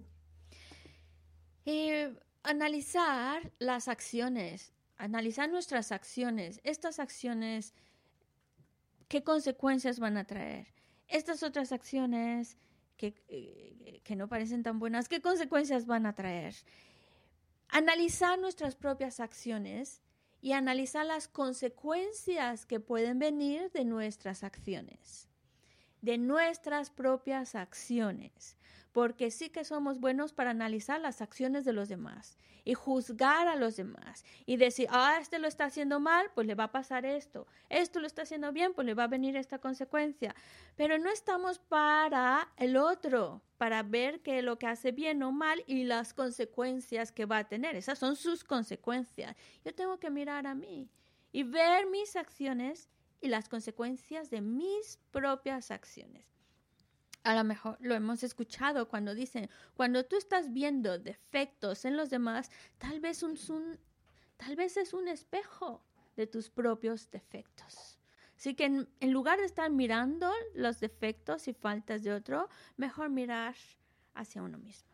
Analizar las acciones, analizar nuestras acciones, estas acciones, ¿qué consecuencias van a traer? Estas otras acciones que no parecen tan buenas, ¿qué consecuencias van a traer? Analizar nuestras propias acciones y analizar las consecuencias que pueden venir de nuestras acciones, de nuestras propias acciones. Porque sí que somos buenos para analizar las acciones de los demás y juzgar a los demás y decir, este lo está haciendo mal, pues le va a pasar esto lo está haciendo bien, pues le va a venir esta consecuencia. Pero no estamos para el otro, para ver que lo que hace bien o mal y las consecuencias que va a tener. Esas son sus consecuencias. Yo tengo que mirar a mí y ver mis acciones y las consecuencias de mis propias acciones. A lo mejor lo hemos escuchado cuando dicen, cuando tú estás viendo defectos en los demás, tal vez es un espejo de tus propios defectos. Así que en lugar de estar mirando los defectos y faltas de otro, mejor mirar hacia uno mismo.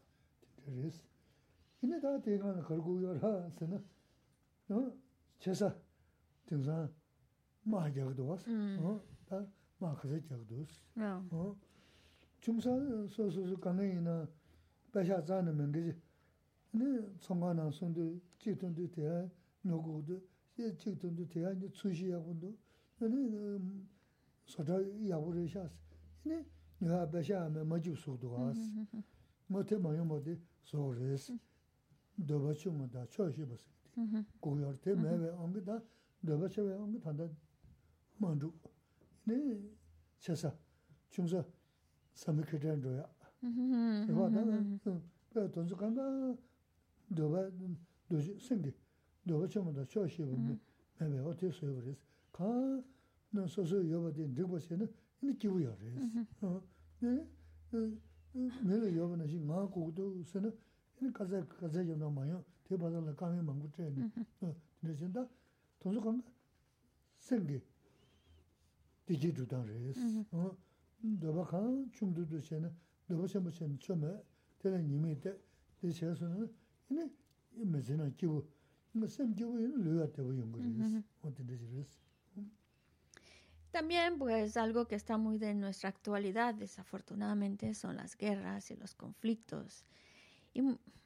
También, pues, algo que está muy de nuestra actualidad, desafortunadamente, son las guerras y los conflictos. Y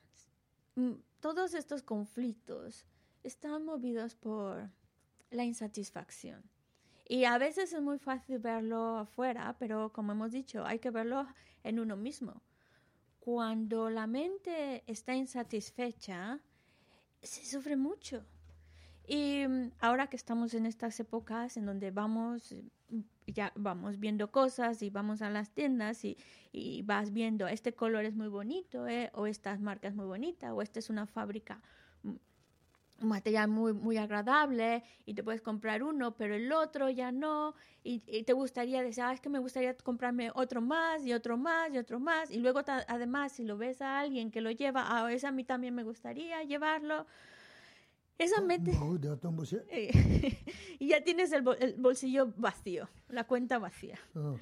todos estos conflictos están movidos por la insatisfacción. Y a veces es muy fácil verlo afuera, pero como hemos dicho, hay que verlo en uno mismo. Cuando la mente está insatisfecha, se sufre mucho. Y ahora que estamos en estas épocas en donde ya vamos viendo cosas y vamos a las tiendas y vas viendo, este color es muy bonito, o esta marca es muy bonita, o esta es una fábrica, un material muy, muy agradable, y te puedes comprar uno, pero el otro ya no, y te gustaría decir, es que me gustaría comprarme otro más, y otro más, y otro más, y luego además si lo ves a alguien que lo lleva, ese a mí también me gustaría llevarlo. Esa mente... y ya tienes el bolsillo vacío, la cuenta vacía.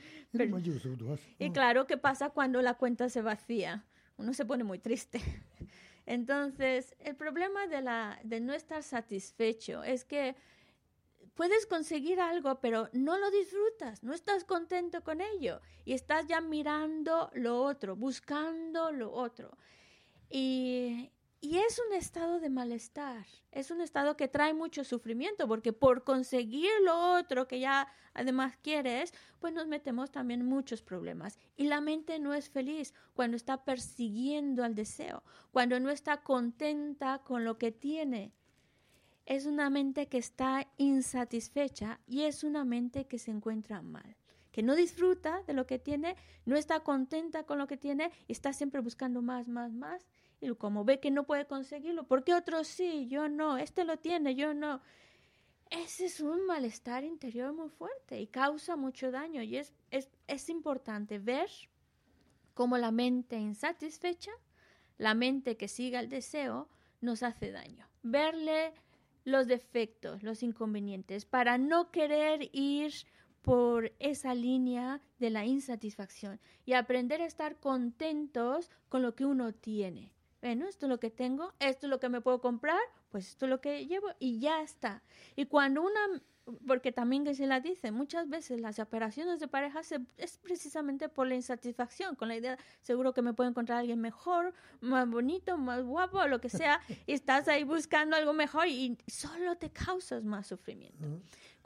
Y claro, ¿qué pasa cuando la cuenta se vacía? Uno se pone muy triste. Entonces, el problema de no estar satisfecho es que puedes conseguir algo, pero no lo disfrutas, no estás contento con ello. Y estás ya mirando lo otro, buscando lo otro. Y es un estado de malestar, es un estado que trae mucho sufrimiento, porque por conseguir lo otro que ya además quieres, pues nos metemos también en muchos problemas. Y la mente no es feliz cuando está persiguiendo al deseo, cuando no está contenta con lo que tiene. Es una mente que está insatisfecha y es una mente que se encuentra mal, que no disfruta de lo que tiene, no está contenta con lo que tiene y está siempre buscando más, más, más. Y como ve que no puede conseguirlo, ¿por qué otros sí? Yo no, este lo tiene, yo no. Ese es un malestar interior muy fuerte y causa mucho daño. Y es importante ver cómo la mente insatisfecha, la mente que siga el deseo, nos hace daño. Verle los defectos, los inconvenientes, para no querer ir por esa línea de la insatisfacción y aprender a estar contentos con lo que uno tiene. Bueno, esto es lo que tengo, esto es lo que me puedo comprar, pues esto es lo que llevo y ya está. Y cuando porque también que se la dice, muchas veces las separaciones de pareja es precisamente por la insatisfacción, con la idea, seguro que me puedo encontrar a alguien mejor, más bonito, más guapo, lo que sea, y estás ahí buscando algo mejor y solo te causas más sufrimiento.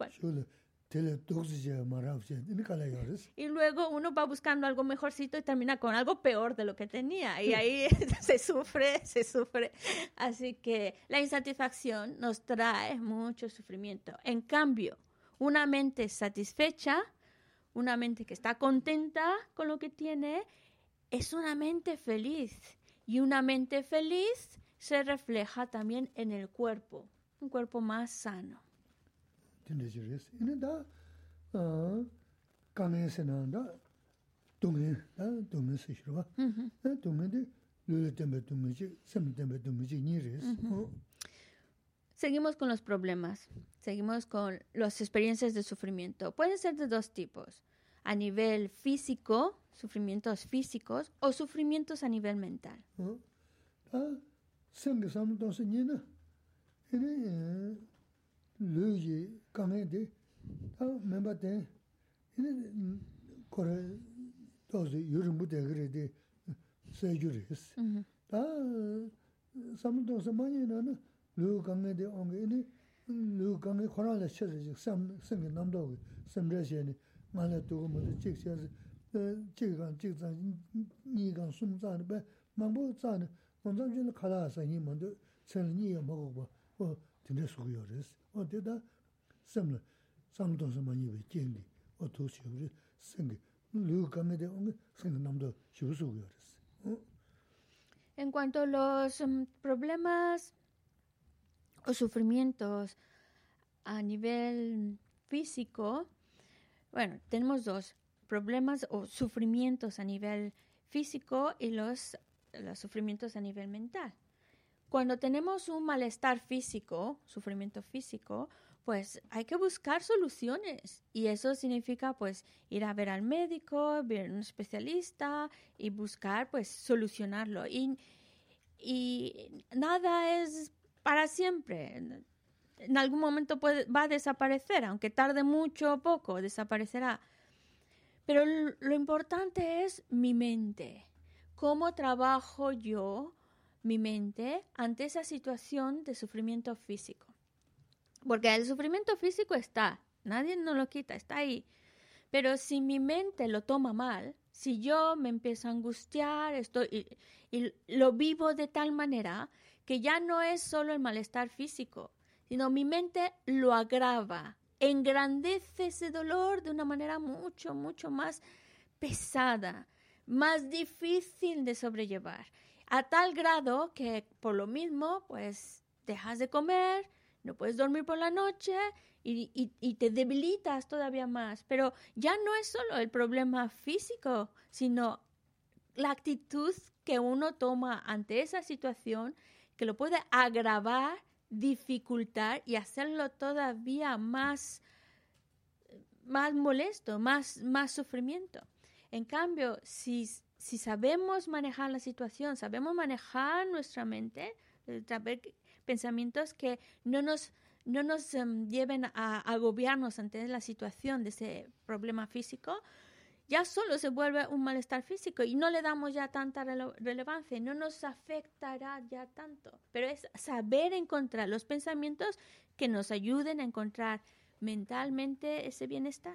Y luego uno va buscando algo mejorcito y termina con algo peor de lo que tenía. Y ahí se sufre. Así que la insatisfacción nos trae mucho sufrimiento. En cambio, una mente satisfecha, una mente que está contenta con lo que tiene, es una mente feliz. Y una mente feliz se refleja también en el cuerpo, un cuerpo más sano. tenderes. En da 강에서는다 동해 동해 시시로 동해데 르 때문에 동해지 샘 때문에 동해지 니레스 Seguimos con los problemas, seguimos con las experiencias de sufrimiento. Pueden ser de dos tipos, a nivel físico, sufrimientos físicos, o sufrimientos a nivel mental. 생게 삼도서 니나 에네 르지 강에데 다 멤버데 에네 거래 도서 여름부터 그래데 세주레스 다 삼도서 많이 나는 르 강에데 온게네 르 강에 코라를 쳐지 삼 생게 남도 삼레시니 말에 두고 뭐 직시해서 지가 니가 숨자는 배 망보 자는 원장진의 칼라서 이만도 천이 먹어 봐 근데 소요레스 어디다 삼을 삼도서 많이 왜 쟁기 도시를 생게 르 강에데 온게 생게 남도 쇼소요레스 En cuanto a los problemas o sufrimientos a nivel físico, bueno, tenemos dos problemas o sufrimientos a nivel físico y los sufrimientos a nivel mental. Cuando tenemos un malestar físico, sufrimiento físico, pues hay que buscar soluciones y eso significa pues ir a ver al médico, ver a un especialista y buscar pues solucionarlo y nada es para siempre. En algún momento va a desaparecer, aunque tarde mucho o poco, desaparecerá. Pero lo importante es mi mente. ¿Cómo trabajo yo mi mente ante esa situación de sufrimiento físico? Porque el sufrimiento físico está, nadie nos lo quita, está ahí. Pero si mi mente lo toma mal, si yo me empiezo a angustiar y lo vivo de tal manera que ya no es solo el malestar físico, sino mi mente lo agrava, engrandece ese dolor de una manera mucho, mucho más pesada, más difícil de sobrellevar, a tal grado que por lo mismo, pues, dejas de comer, no puedes dormir por la noche y te debilitas todavía más. Pero ya no es solo el problema físico, sino la actitud que uno toma ante esa situación que lo puede agravar, dificultar y hacerlo todavía más molesto, más sufrimiento. En cambio, si sabemos manejar la situación, sabemos manejar nuestra mente, saber pensamientos que no nos lleven a agobiarnos ante la situación de ese problema físico, ya solo se vuelve un malestar físico y no le damos ya tanta relevancia, no nos afectará ya tanto. Pero es saber encontrar los pensamientos que nos ayuden a encontrar mentalmente ese bienestar.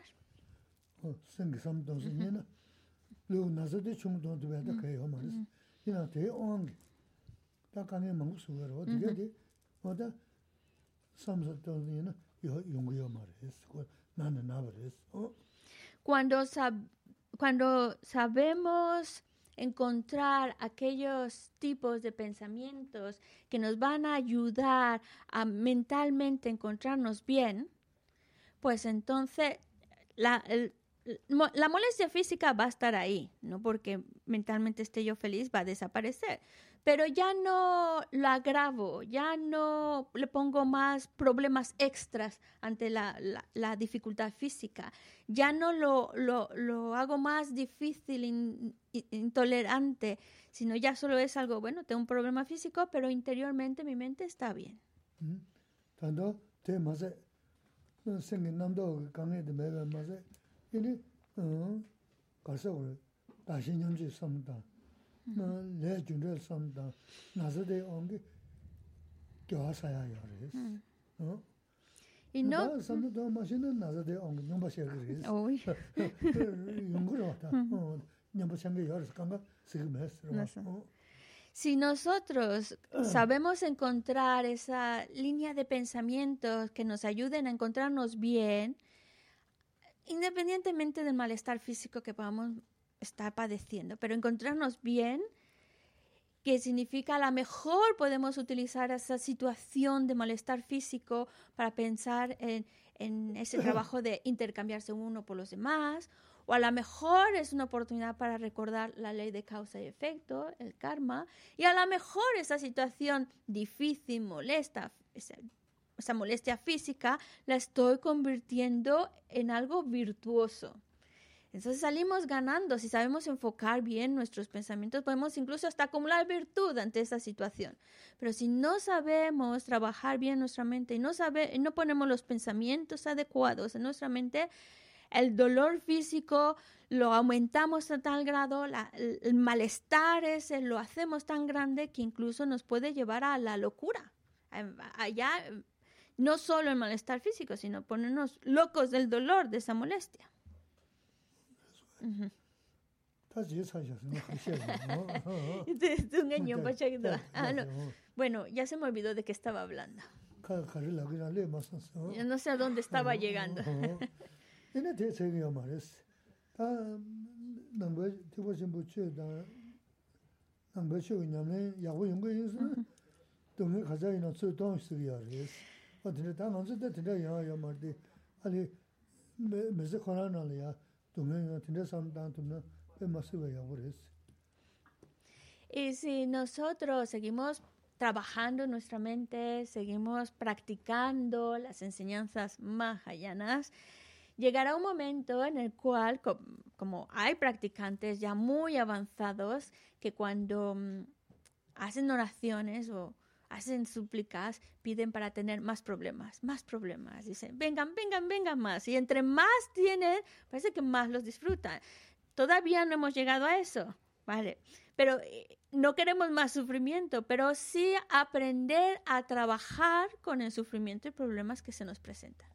Cuando sabemos encontrar aquellos tipos de pensamientos que nos van a ayudar a mentalmente encontrarnos bien, pues entonces la molestia física va a estar ahí, no porque mentalmente esté yo feliz, va a desaparecer. Pero ya no lo agravo, ya no le pongo más problemas extras ante la dificultad física. Ya no lo hago más difícil, intolerante, sino ya solo es algo, bueno, tengo un problema físico, pero interiormente mi mente está bien. Tanto te más 생긴남도 강에도 매가 맞아. 이니 가서 다시년지 섬다. 내 준비를 섬다. 나서대 온게 교사야 요래스. Y no 섬도 마시는 나서대 온 용바셔 그래스. Uy. 용구로다. 냠바샹게 요래스 간가 지금했어. Si nosotros sabemos encontrar esa línea de pensamientos que nos ayuden a encontrarnos bien, independientemente del malestar físico que podamos estar padeciendo, pero encontrarnos bien, que significa a lo mejor podemos utilizar esa situación de malestar físico para pensar en en ese trabajo de intercambiarse uno por los demás, o a lo mejor es una oportunidad para recordar la ley de causa y efecto, el karma, y a lo mejor esa situación difícil, molesta, esa molestia física, la estoy convirtiendo en algo virtuoso. Entonces salimos ganando. Si sabemos enfocar bien nuestros pensamientos, podemos incluso hasta acumular virtud ante esa situación. Pero si no sabemos trabajar bien nuestra mente y no ponemos los pensamientos adecuados en nuestra mente, el dolor físico lo aumentamos a tal grado, el malestar ese lo hacemos tan grande que incluso nos puede llevar a la locura. Allá, no solo el malestar físico, sino ponernos locos del dolor, de esa molestia. Bueno, ya se me olvidó de qué estaba hablando. Yo no sé a dónde estaba llegando. Y si nosotros seguimos trabajando en nuestra mente, seguimos practicando las enseñanzas mahayanas, llegará un momento en el cual, como hay practicantes ya muy avanzados, que cuando hacen oraciones o hacen súplicas, piden para tener más problemas. Dicen, vengan más. Y entre más tienen, parece que más los disfrutan. Todavía no hemos llegado a eso, ¿vale? Pero no queremos más sufrimiento, pero sí aprender a trabajar con el sufrimiento y problemas que se nos presentan.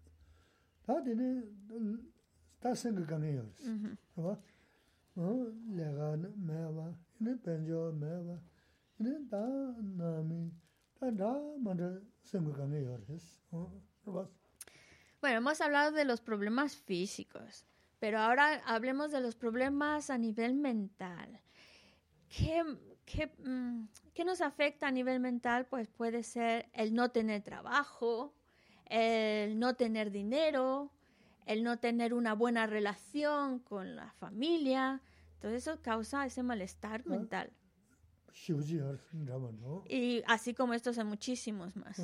Bueno, hemos hablado de los problemas físicos, pero ahora hablemos de los problemas a nivel mental. ¿Qué nos afecta a nivel mental? Pues puede ser el no tener trabajo, el no tener dinero, el no tener una buena relación con la familia. Todo eso causa ese malestar mental. Y así como estos hay muchísimos más.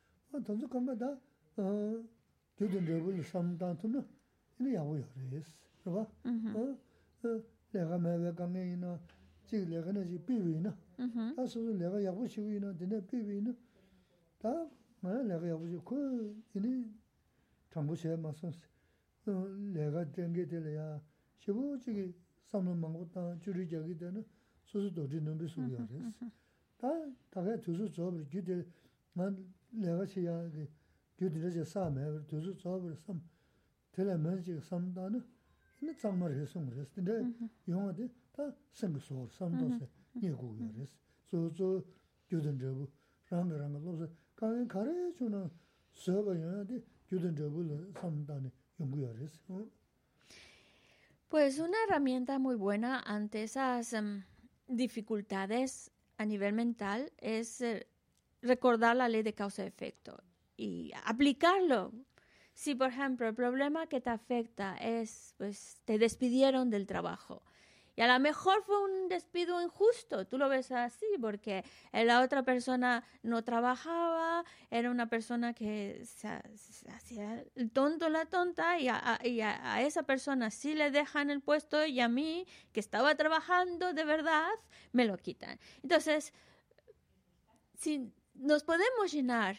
Pues una herramienta muy buena ante esas dificultades a nivel mental es recordar la ley de causa y efecto y aplicarlo. Si, por ejemplo, el problema que te afecta es, pues, te despidieron del trabajo y a lo mejor fue un despido injusto, tú lo ves así, porque la otra persona no trabajaba, era una persona que se hacía el tonto, la tonta, y a esa persona sí le dejan el puesto y a mí, que estaba trabajando de verdad, me lo quitan. Entonces, si nos podemos llenar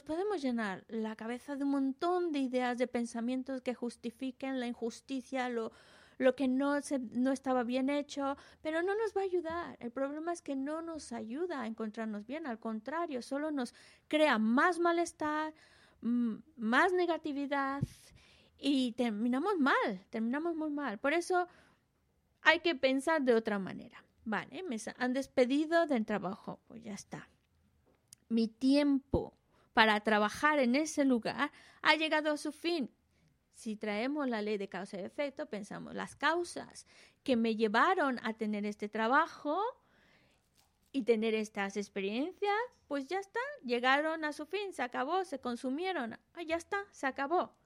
la cabeza de un montón de ideas, de pensamientos que justifiquen la injusticia, lo que no estaba bien hecho, pero no nos va a ayudar. El problema es que no nos ayuda a encontrarnos bien, al contrario, solo nos crea más malestar, más negatividad y terminamos muy mal. Por eso hay que pensar de otra manera. Vale, me han despedido del trabajo, pues ya está. Mi tiempo para trabajar en ese lugar ha llegado a su fin. Si traemos la ley de causa y efecto, pensamos las causas que me llevaron a tener este trabajo y tener estas experiencias, pues ya está, llegaron a su fin, se acabó, se consumieron, ya está, se acabó.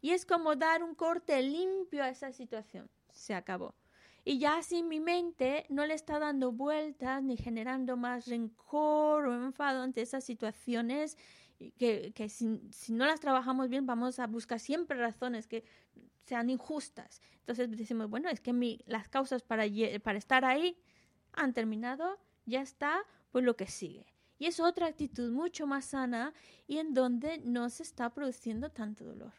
Y es como dar un corte limpio a esa situación. Se acabó. Y ya así mi mente no le está dando vueltas ni generando más rencor o enfado ante esas situaciones que si no las trabajamos bien vamos a buscar siempre razones que sean injustas. Entonces decimos, bueno, es que las causas para estar ahí han terminado, ya está, pues lo que sigue. Y es otra actitud mucho más sana y en donde no se está produciendo tanto dolor.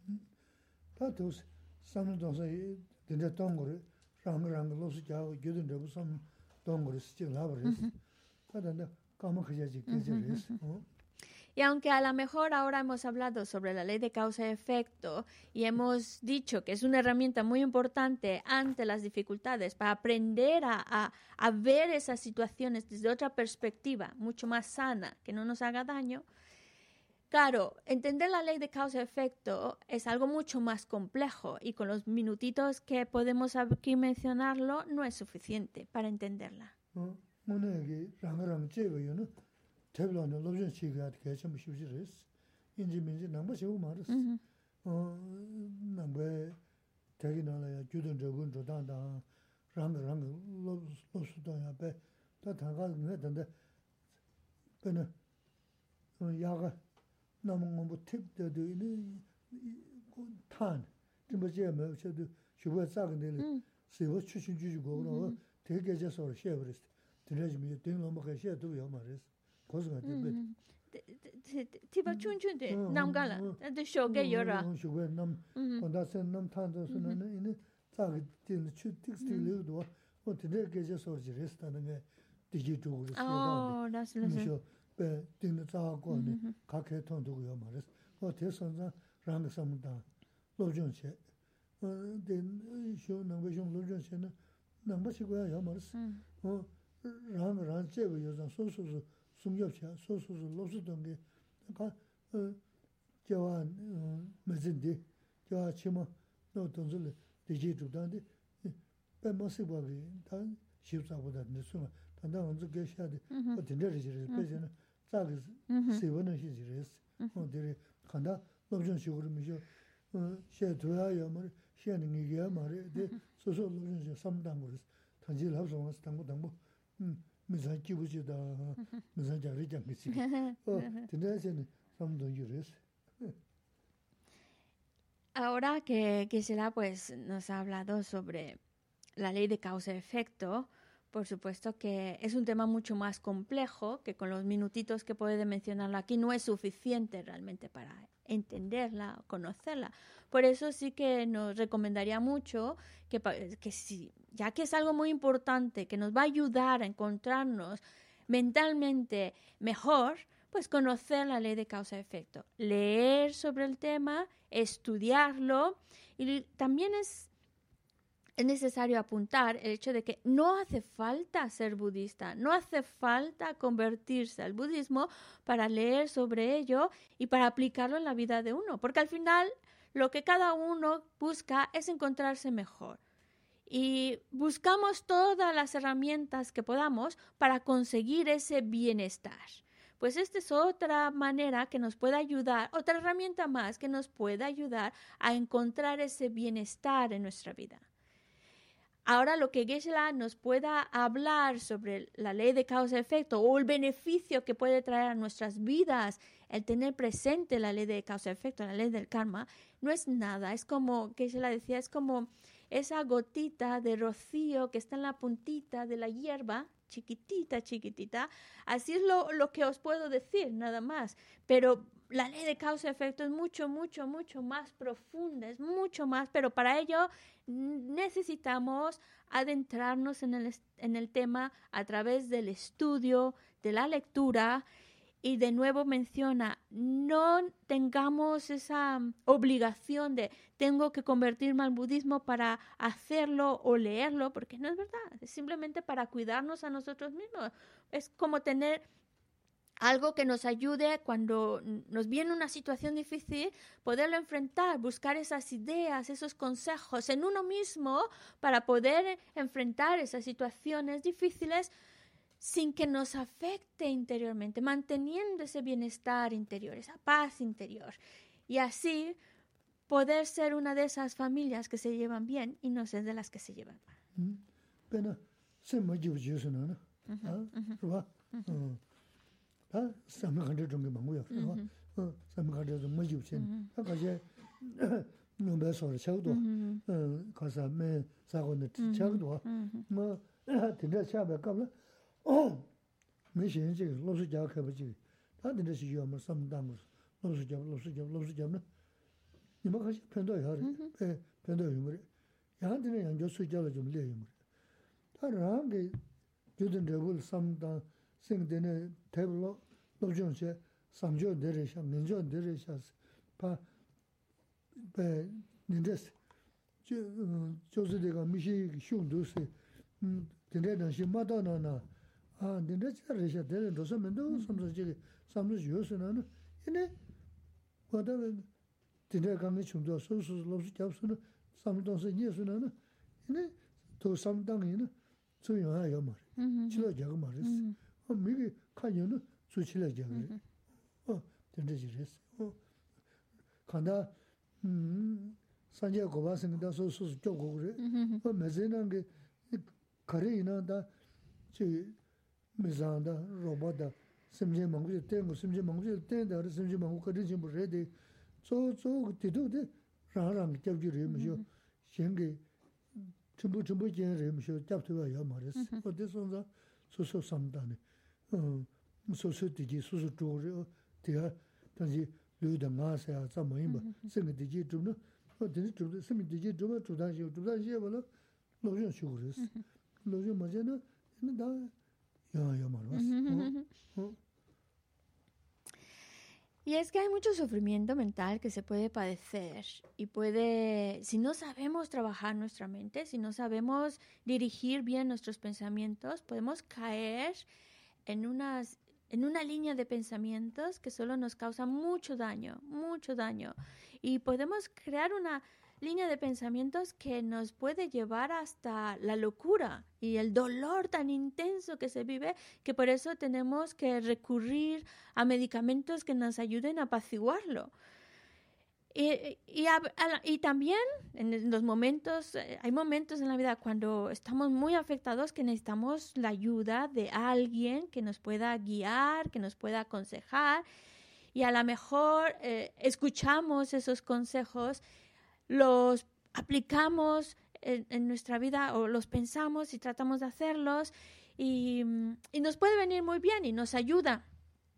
Y aunque a lo mejor ahora hemos hablado sobre la ley de causa y efecto y hemos dicho que es una herramienta muy importante ante las dificultades para aprender a ver esas situaciones desde otra perspectiva, mucho más sana, que no nos haga daño, claro, entender la ley de causa y efecto es algo mucho más complejo y con los minutitos que podemos aquí mencionarlo no es suficiente para entenderla. 태블로는 로전 시가 개점 쉬우지레스 인지민지 남바시고 말았어 남베 대기나라야 주든 저분 저단다 랑랑 로스도야 배 다다가 내던데 근데 야가 남은 뭐 팁도 있는 탄 좀버지에 뭐 저도 주고 싸근데 세워 추신 주고 그러고 되게 제서 쉐버스 들려지면 되는 뭐 해셔도 요 말했어 티바 춘춘데 남가라 데 쇼게 요라 쇼게 남 건다선 남 탄도스는 이네 자기 딜 추틱스틸도 어떻게 계제 소지레스다는 게 디지털로 쓰다 나슬라서 배 딩의 자고네 각해 통도고요 말했어 대선자 랑 삼다 로전체 된 쇼는 외종 로전체는 남바시고야 요 말했어 랑 제고 요즘 소소소 숨겹차 소소소 로스던 게 그러니까 저한 메진디 저 치마 너 돈을 디지털한테 빼먹어버리 다 쉽사보다 늦으면 단단 언제 계셔야돼 어떤 데를 빼서는 자기 세번은 시지레스 어디에 간다 로전 식으로 미죠 셰도야 말 셰는 이게 말에 소소 로전 삼단 거를 단지를 합성해서 당고 미산 기부지다 미산 자리 장기지 근데는 삼도 유레스. Ahora que Gisela pues nos ha hablado sobre la ley de causa y efecto, por supuesto que es un tema mucho más complejo, que con los minutitos que puede mencionarlo aquí no es suficiente realmente para entenderla o conocerla. Por eso sí que nos recomendaría mucho que si, ya que es algo muy importante, que nos va a ayudar a encontrarnos mentalmente mejor, pues conocer la ley de causa y efecto, leer sobre el tema, estudiarlo, y también es necesario apuntar el hecho de que no hace falta ser budista, no hace falta convertirse al budismo para leer sobre ello y para aplicarlo en la vida de uno, porque al final lo que cada uno busca es encontrarse mejor. Y buscamos todas las herramientas que podamos para conseguir ese bienestar. Pues esta es otra manera que nos puede ayudar, otra herramienta más que nos puede ayudar a encontrar ese bienestar en nuestra vida. Ahora lo que Geshe-la nos pueda hablar sobre la ley de causa y efecto o el beneficio que puede traer a nuestras vidas el tener presente la ley de causa y efecto, la ley del karma, no es nada. Es como Geshe-la decía, es como esa gotita de rocío que está en la puntita de la hierba, chiquitita, chiquitita. Así es lo que os puedo decir, nada más. Pero la ley de causa y efecto es mucho, mucho, mucho más profunda, es mucho más, pero para ello necesitamos adentrarnos en el tema a través del estudio, de la lectura, y de nuevo menciona, no tengamos esa obligación de tengo que convertirme al budismo para hacerlo o leerlo, porque no es verdad, es simplemente para cuidarnos a nosotros mismos. Es como tener algo que nos ayude cuando nos viene una situación difícil, poderlo enfrentar, buscar esas ideas, esos consejos en uno mismo para poder enfrentar esas situaciones difíciles sin que nos afecte interiormente, manteniendo ese bienestar interior, esa paz interior. Y así poder ser una de esas familias que se llevan bien y no ser de las que se llevan mal. Pero se me lleva ¿no? ¿Verdad? Se me han hecho un mango, ¿verdad? Se me han hecho un mango, ¿verdad? No me sobre chaudo, cosa me sago de chaudo, ma tendrá chabe cabla. Me siento los ya que biji. Tendrá si yo me samdamos. Los ya, ¿no? Y me casi pendo ya, pendo humor. Ya tiene ya yo soy ya lo yo le humor. Ahora que yo tendré samda sing de table los yo se samjo de sha, minjo de sha, pa nindes就是这个米西凶都是今天那些马到那今天这里些的人都是门都什么这个什么就是呢因为我的今天刚刚穷到收拾老是教书呢什么东西也是呢因为都什么当人呢这样还要嘛起来讲个嘛是我每个看见呢做起来讲的真的就是看到산재 고바생다 소소 쪼고 그래. 메제는 게 카레이나다 저 메잔다 로보다 심지 망고 땡고 심지 망고 땡다 심지 망고 거리 좀 그래데 저저 그때도데 라랑 잡지를 해면서 생게 전부 제를 잡도가 야 말했어. 어디선가 소소 삼다네. 소소 되지 소소 쪼고 대야 단지 류다 마세야 자모임바 생게되지 좀는 어디 좀 생게되지 좀 주단시 뭐라 노전 쇼그레스 노전 맞잖아 나 야야 말았어 Y es que hay mucho sufrimiento mental que se puede padecer y puede, si no sabemos trabajar nuestra mente, si no sabemos dirigir bien nuestros pensamientos, podemos caer en una línea de pensamientos que solo nos causa mucho daño. Y podemos crear una línea de pensamientos que nos puede llevar hasta la locura y el dolor tan intenso que se vive, que por eso tenemos que recurrir a medicamentos que nos ayuden a apaciguarlo. Y también en los momentos, hay momentos en la vida cuando estamos muy afectados que necesitamos la ayuda de alguien que nos pueda guiar, que nos pueda aconsejar, y a lo mejor escuchamos esos consejos, los aplicamos en nuestra vida o los pensamos y tratamos de hacerlos y nos puede venir muy bien y nos ayuda.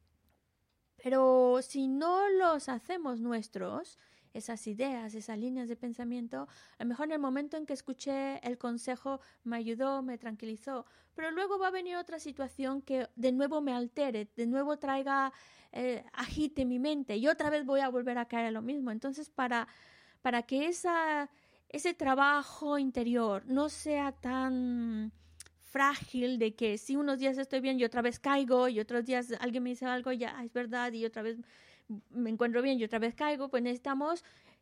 Pero si no los hacemos nuestros, esas ideas, esas líneas de pensamiento, a lo mejor en el momento en que escuché el consejo me ayudó, me tranquilizó, pero luego va a venir otra situación que de nuevo me altere, de nuevo traiga, agite mi mente y otra vez voy a volver a caer en lo mismo. Entonces, para que ese trabajo interior no sea tan frágil de que si unos días estoy bien y otra vez caigo y otros días alguien me dice algo y ya es verdad y otra vez me encuentro bien y otra vez caigo, pues necesitamos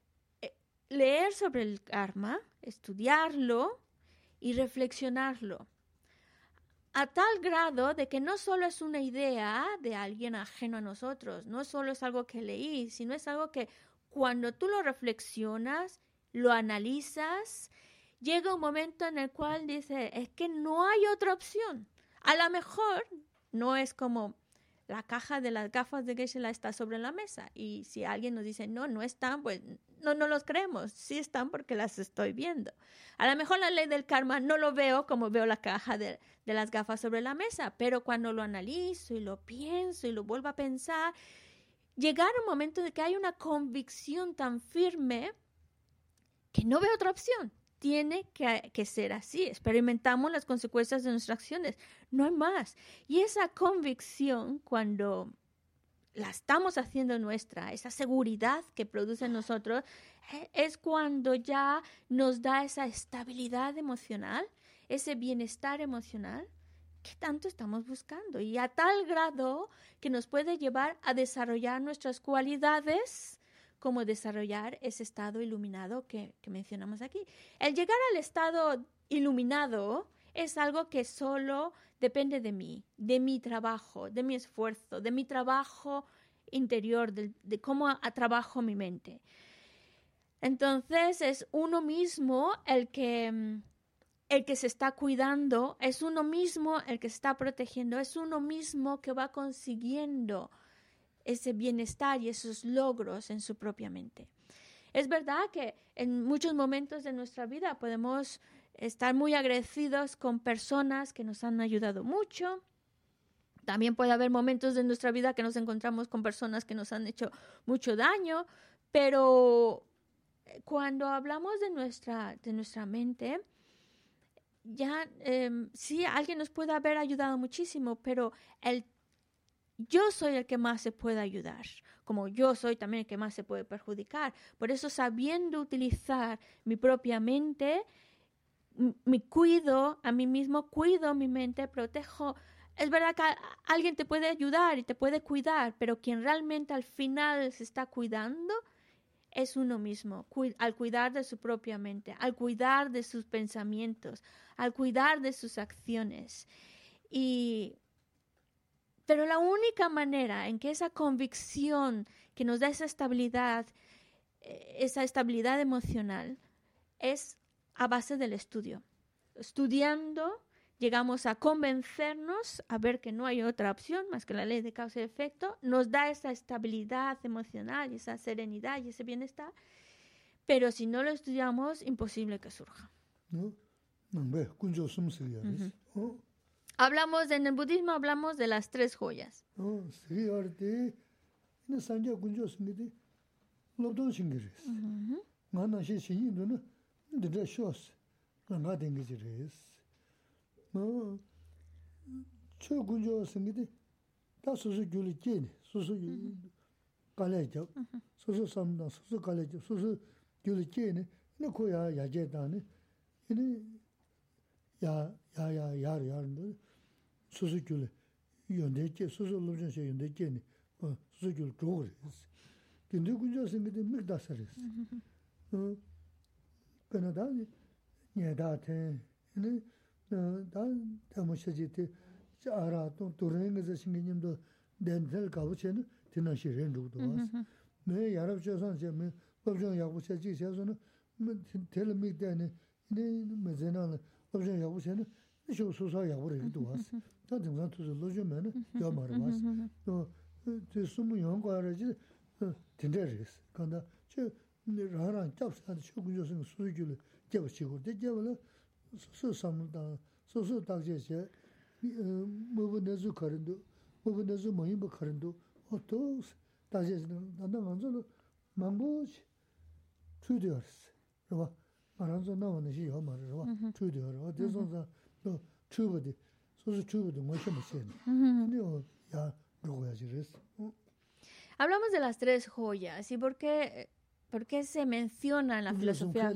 leer sobre el karma, estudiarlo y reflexionarlo a tal grado de que no solo es una idea de alguien ajeno a nosotros, no solo es algo que leí, sino es algo que cuando tú lo reflexionas, lo analizas, llega un momento en el cual dices, es que no hay otra opción. A lo mejor no es como la caja de las gafas de Geshe-la está sobre la mesa y si alguien nos dice, no están, pues no los creemos. Sí están porque las estoy viendo. A lo mejor la ley del karma no lo veo como veo la caja de las gafas sobre la mesa, pero cuando lo analizo y lo pienso y lo vuelvo a pensar, llegar a un momento de que hay una convicción tan firme que no veo otra opción. Tiene que ser así. Experimentamos las consecuencias de nuestras acciones. No hay más. Y esa convicción, cuando la estamos haciendo nuestra, esa seguridad que produce en nosotros, es cuando ya nos da esa estabilidad emocional, ese bienestar emocional que tanto estamos buscando. Y a tal grado que nos puede llevar a desarrollar nuestras cualidades, como desarrollar ese estado iluminado que mencionamos aquí. El llegar al estado iluminado es algo que solo depende de mí, de mi trabajo, de mi esfuerzo, de mi trabajo interior, de cómo trabajo mi mente. Entonces es uno mismo el que se está cuidando, es uno mismo el que se está protegiendo, es uno mismo que va consiguiendo ese bienestar y esos logros en su propia mente. Es verdad que en muchos momentos de nuestra vida podemos estar muy agradecidos con personas que nos han ayudado mucho. También puede haber momentos de nuestra vida que nos encontramos con personas que nos han hecho mucho daño, pero cuando hablamos de nuestra mente, ya sí, alguien nos puede haber ayudado muchísimo, pero yo soy el que más se puede ayudar, como yo soy también el que más se puede perjudicar. Por eso, sabiendo utilizar mi propia mente, me cuido a mí mismo, cuido mi mente, protejo. Es verdad que alguien te puede ayudar y te puede cuidar, pero quien realmente al final se está cuidando es uno mismo, al cuidar de su propia mente, al cuidar de sus pensamientos, al cuidar de sus acciones. Pero la única manera en que esa convicción que nos da esa estabilidad emocional, es a base del estudio. Estudiando, llegamos a convencernos, a ver que no hay otra opción más que la ley de causa y efecto, nos da esa estabilidad emocional y esa serenidad y ese bienestar, pero si no lo estudiamos, imposible que surja. En el budismo hablamos de las 3 joyas. 수수교를 연대체 수수 로전시 연대체니 수수교 조그레스 근데 군저 생기데 미다서레스 그나다니 녀다테 네 다모셔지테 자라 또 도랭에서 신기님도 렌텔 가보체는 디나시 렌루도 와서 네 야랍셔선제 네 법정 야부셔지 셔서는 텔미데네 네 메제나는 법정 야부셔는 쇼 소소 야부레도 왔어 다 등산 투자 로즈면은 요 말을 왔어 또 숨은 연구하라지 된대리스 간다 저 라랑 잡사도 쇼군조선 수주를 잡으시고 대접을 소소삼다 소소 딱제세 뭐분에서 거른도 뭐분에서 뭐이 뭐 거른도 또 다제는 난다 먼저로 망보지 추디어스 봐 말한서 나오는 시요 말을 봐 추디어로 어디서서 또 추버디 소소 추버도 뭐좀 있어요 근데 야 누구야지 그랬어 Hablamos de las 3 joyas y por qué se menciona en la filosofía.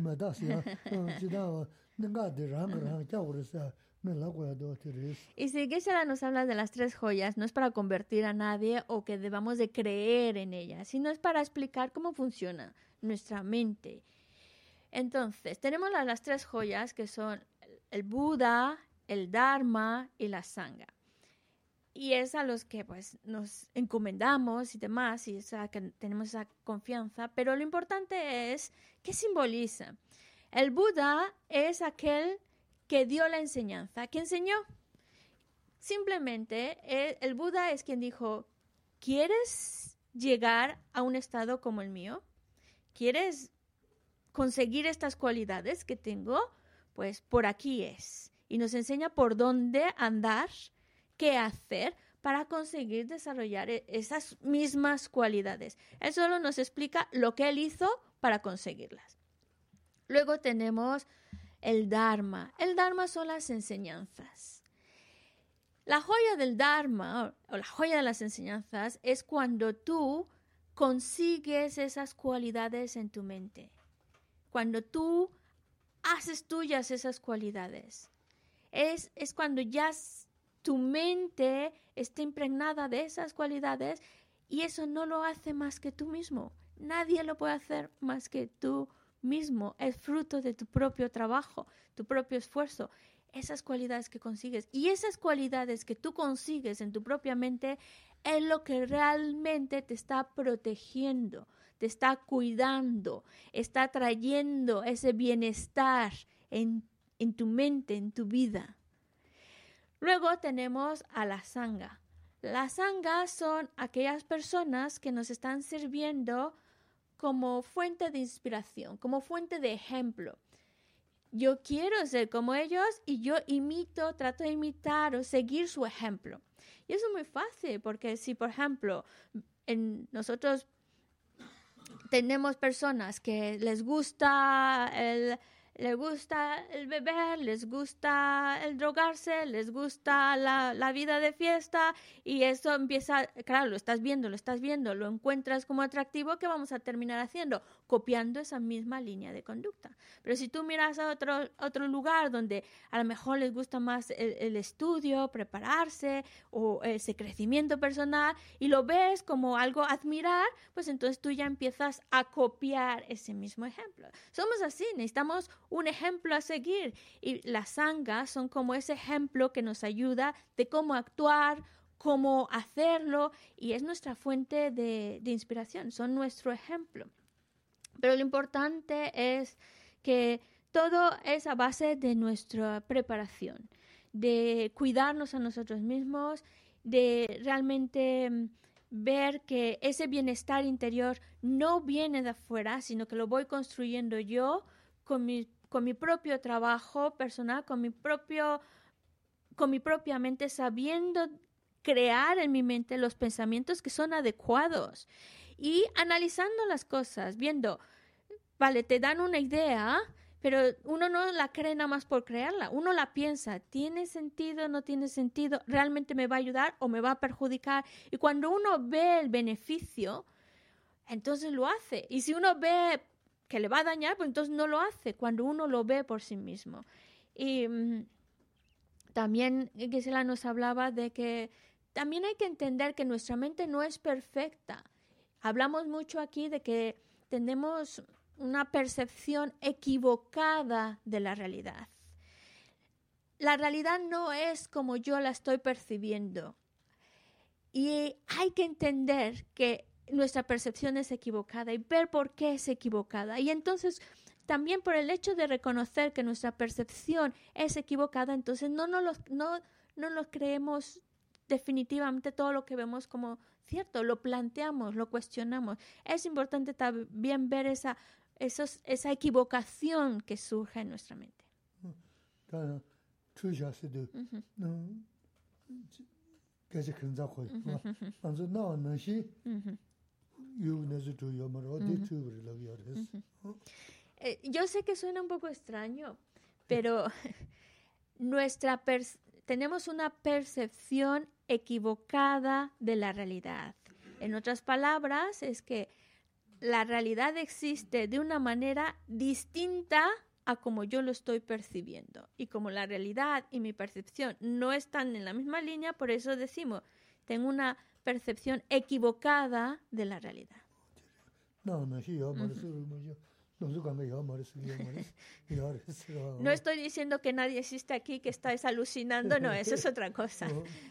Y si Geshe-la nos habla de las 3 joyas, no es para convertir a nadie o que debamos de creer en ellas, sino es para explicar cómo funciona nuestra mente. Entonces, tenemos las 3 joyas que son el Buda, el Dharma y la Sangha. Y es a los que pues nos encomendamos y demás, y que tenemos esa confianza. Pero lo importante es, ¿qué simboliza? El Buda es aquel que dio la enseñanza, que enseñó. Simplemente, el Buda es quien dijo, ¿quieres llegar a un estado como el mío? ¿Quieres conseguir estas cualidades que tengo? Pues por aquí es. Y nos enseña por dónde andar, qué hacer para conseguir desarrollar esas mismas cualidades. Él solo nos explica lo que él hizo para conseguirlas. Luego tenemos el Dharma. El Dharma son las enseñanzas. La joya del Dharma, o la joya de las enseñanzas, es cuando tú consigues esas cualidades en tu mente. Cuando tú haces tuyas esas cualidades. Es cuando ya tu mente está impregnada de esas cualidades y eso no lo hace más que tú mismo. Nadie lo puede hacer más que tú mismo. Es fruto de tu propio trabajo, tu propio esfuerzo. Esas cualidades que consigues y esas cualidades que tú consigues en tu propia mente es lo que realmente te está protegiendo, te está cuidando, está trayendo ese bienestar en tu mente, en tu vida. Luego tenemos a la sangha. Las sanghas son aquellas personas que nos están sirviendo como fuente de inspiración, como fuente de ejemplo. Yo quiero ser como ellos y yo trato de imitar o seguir su ejemplo. Y eso es muy fácil porque si, por ejemplo, nosotros tenemos personas que les gusta el beber, les gusta el drogarse, les gusta la vida de fiesta y eso empieza, claro, lo estás viendo, lo encuentras como atractivo, ¿qué vamos a terminar haciendo? Copiando esa misma línea de conducta. Pero si tú miras a otro lugar donde a lo mejor les gusta más el estudio, prepararse o ese crecimiento personal y lo ves como algo a admirar, pues entonces tú ya empiezas a copiar ese mismo ejemplo. Somos así, necesitamos un ejemplo a seguir y las sanghas son como ese ejemplo que nos ayuda de cómo actuar, cómo hacerlo y es nuestra fuente de inspiración, son nuestro ejemplo. Pero lo importante es que todo es a base de nuestra preparación, de cuidarnos a nosotros mismos, de realmente ver que ese bienestar interior no viene de afuera, sino que lo voy construyendo yo con mi propio trabajo personal, con mi propia mente, sabiendo crear en mi mente los pensamientos que son adecuados y analizando las cosas, viendo, vale, te dan una idea, pero uno no la cree nada más por creerla, uno la piensa, ¿tiene sentido, no tiene sentido? ¿Realmente me va a ayudar o me va a perjudicar? Y cuando uno ve el beneficio, entonces lo hace. Y si uno ve que le va a dañar, pues entonces no lo hace cuando uno lo ve por sí mismo. Y también Gisela nos hablaba de que también hay que entender que nuestra mente no es perfecta. Hablamos mucho aquí de que tenemos una percepción equivocada de la realidad. La realidad no es como yo la estoy percibiendo. Y hay que entender que nuestra percepción es equivocada y ver por qué es equivocada. Y entonces, también por el hecho de reconocer que nuestra percepción es equivocada, entonces no nos creemos definitivamente todo lo que vemos como cierto, lo planteamos, lo cuestionamos. Es importante también ver esa equivocación que surge en nuestra mente. Yo sé que suena un poco extraño, pero tenemos una percepción equivocada de la realidad. En otras palabras, es que la realidad existe de una manera distinta a como yo lo estoy percibiendo. Y como la realidad y mi percepción no están en la misma línea, por eso decimos, tengo una percepción equivocada de la realidad. No estoy diciendo que nadie existe aquí, que estáis alucinando, no, eso es otra cosa.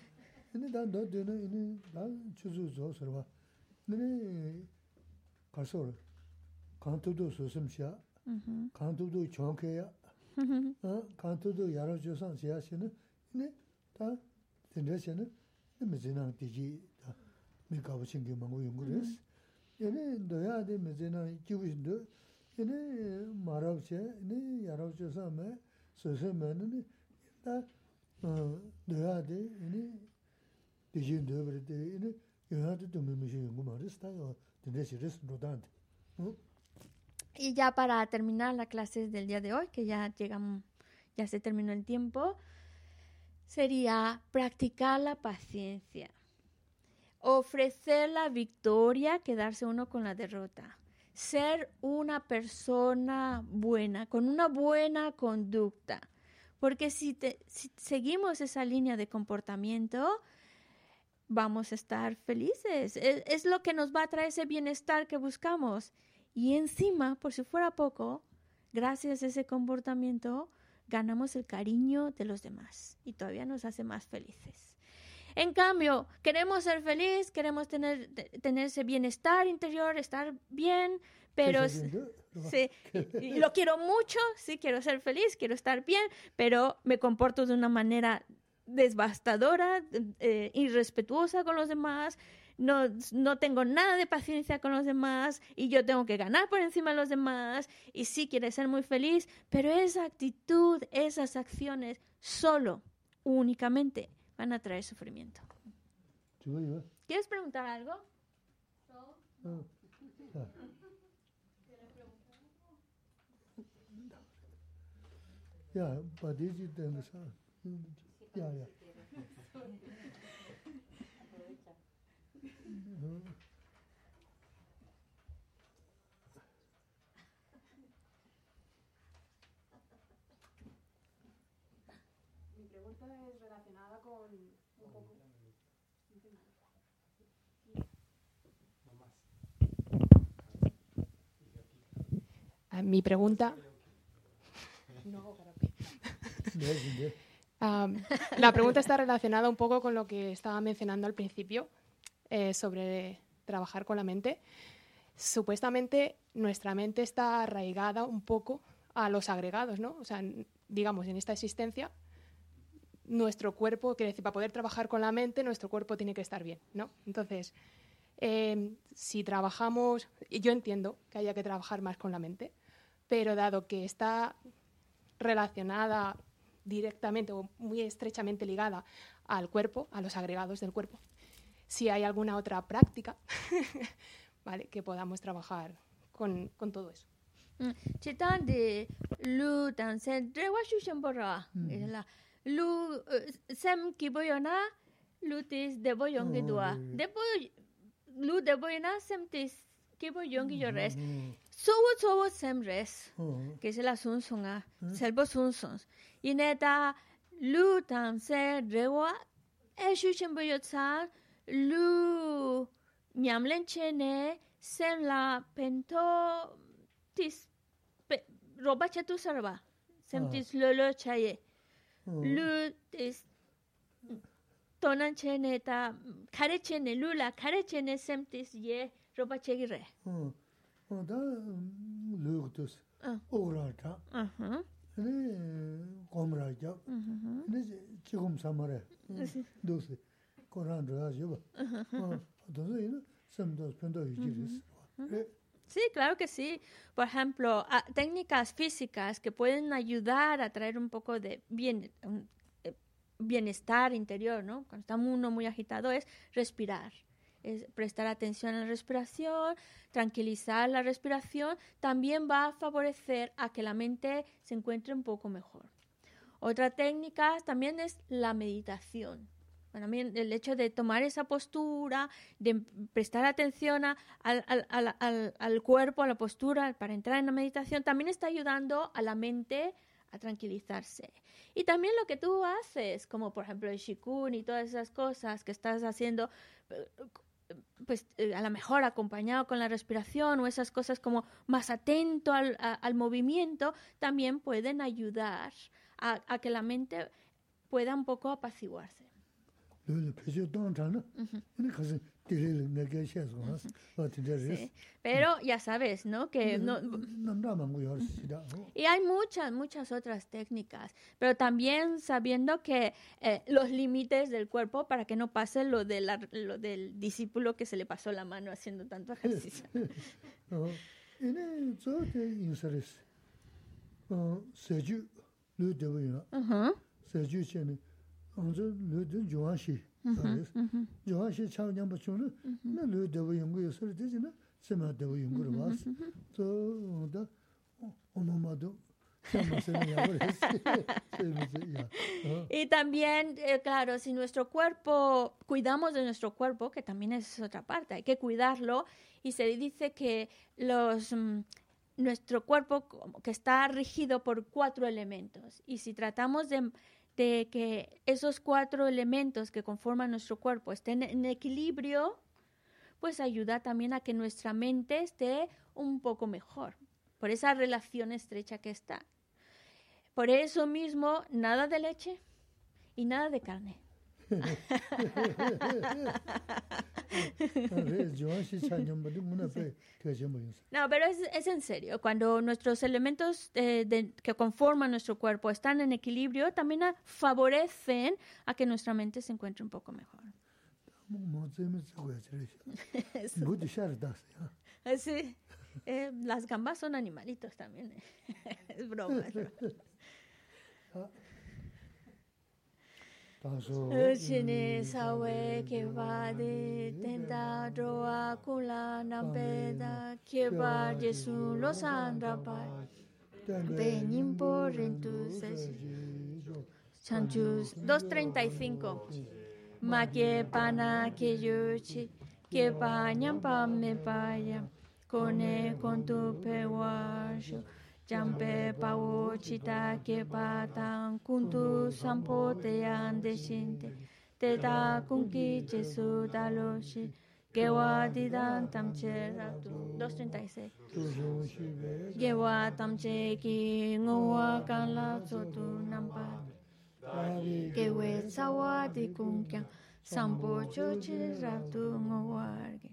Y ya para terminar la clase del día de hoy, que ya se terminó el tiempo, sería practicar la paciencia, ofrecer la victoria, quedarse uno con la derrota, ser una persona buena, con una buena conducta, porque si seguimos esa línea de comportamiento, vamos a estar felices, es lo que nos va a traer ese bienestar que buscamos. Y encima, por si fuera poco, gracias a ese comportamiento, ganamos el cariño de los demás y todavía nos hace más felices. En cambio, queremos ser feliz, queremos tener ese bienestar interior, estar bien, pero sí, y lo quiero mucho, sí, quiero ser feliz, quiero estar bien, pero me comporto de una manera devastadora, irrespetuosa con los demás, no tengo nada de paciencia con los demás y yo tengo que ganar por encima de los demás y sí quieres ser muy feliz, pero esa actitud, esas acciones solo, únicamente van a traer sufrimiento. ¿Quieres preguntar algo? Ya, padeci tengo sa. Ya. Mi pregunta es relacionada con un poco... Mi pregunta... No, karaoke. La pregunta está relacionada un poco con lo que estaba mencionando al principio sobre trabajar con la mente. Supuestamente nuestra mente está arraigada un poco a los agregados, ¿no? O sea, digamos, en esta existencia, nuestro cuerpo, quiere decir, para poder trabajar con la mente, nuestro cuerpo tiene que estar bien, ¿no? Entonces, si trabajamos, y yo entiendo que haya que trabajar más con la mente, pero dado que está relacionada directamente o muy estrechamente ligada al cuerpo, a los agregados del cuerpo, si hay alguna otra práctica ¿vale? Que podamos trabajar con todo eso. Chitan de lu dan sen rewa shushan bora la lu sem kiboyona lu tis de boyong gedua de boy lu de boyona sem tis kiboyong gi res so sem res que es la sun sunga selbo sun sons y neta lu dan sen rewa e shushan boyotsa lu nyamlen chene sem la pento tis roba chatu sarva sem tis lolo chaye lu tis tonan chene ta kare chene lula kare chene sem tis ye roba chegire da lugus orata ne komraja ne chigum samare dosi koran rajo dosi sem dos pendo yiris. Sí, claro que sí. Por ejemplo, técnicas físicas que pueden ayudar a traer un poco de bienestar interior, ¿no? Cuando está uno muy agitado es respirar, es prestar atención a la respiración, tranquilizar la respiración, también va a favorecer a que la mente se encuentre un poco mejor. Otra técnica también es la meditación. Bueno, el hecho de tomar esa postura, de prestar atención al cuerpo, a la postura, para entrar en la meditación, también está ayudando a la mente a tranquilizarse. Y también lo que tú haces, como por ejemplo el Shikun y todas esas cosas que estás haciendo, pues a lo mejor acompañado con la respiración o esas cosas como más atento al movimiento, también pueden ayudar a que la mente pueda un poco apaciguarse. Sí. Pero ya sabes, ¿no? Que no... Y hay muchas otras técnicas, pero también sabiendo que los límites del cuerpo para que no pase lo del discípulo que se le pasó la mano haciendo tanto ejercicio. Y también, claro, si nuestro cuerpo, cuidamos de nuestro cuerpo, que también es otra parte, hay que cuidarlo, y se dice que nuestro cuerpo que está regido por 4 elementos, y si tratamos de que esos 4 elementos que conforman nuestro cuerpo estén en equilibrio, pues ayuda también a que nuestra mente esté un poco mejor, por esa relación estrecha que está. Por eso mismo, nada de leche y nada de carne. No, pero es en serio. Cuando nuestros elementos que conforman nuestro cuerpo están en equilibrio, también favorecen a que nuestra mente se encuentre un poco mejor. Sí. Las gambas son animalitos también. Es broma. Uchini sawe keba de tenta droa kula nambeda keba Jesu los andrapai benimpo rentus chanchus 2:35 ma que pana que yuchi que pañampa me paya cone con tu peguayo Jampe pao chita que patan kuntu sampo te ande shinte te da kunki Jesu daloshi que wadidan tamche ratu 2:36 que wa tamche ki ngowa kan la sotu nampa que we sawa di kunkyang sampo chochi ratu ngowarge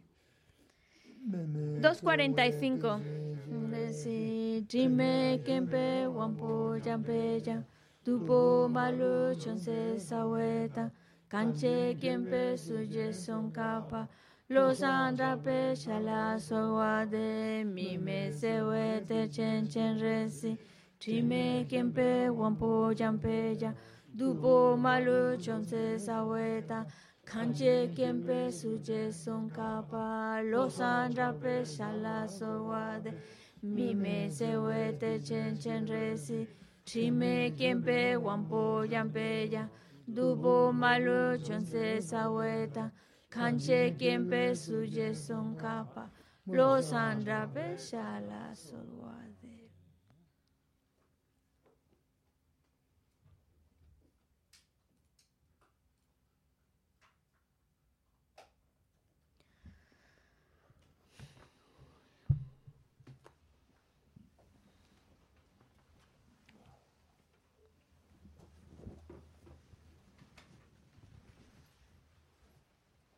2:45 si dime kempe wampo jampe jam tupo malu chonse saweta kanche kempe suje son kapa los andrape shala sowade mi me sewete chen resi dime kempe wampo jampe jam tupo malu chonse saweta kanche kempe suje son kapa los andrape shala sowade mi me sewete chen resi trime kempe wampo yampe ya dubo malu chonse saweta kanche kempe suje son kapa los andrape shala sowade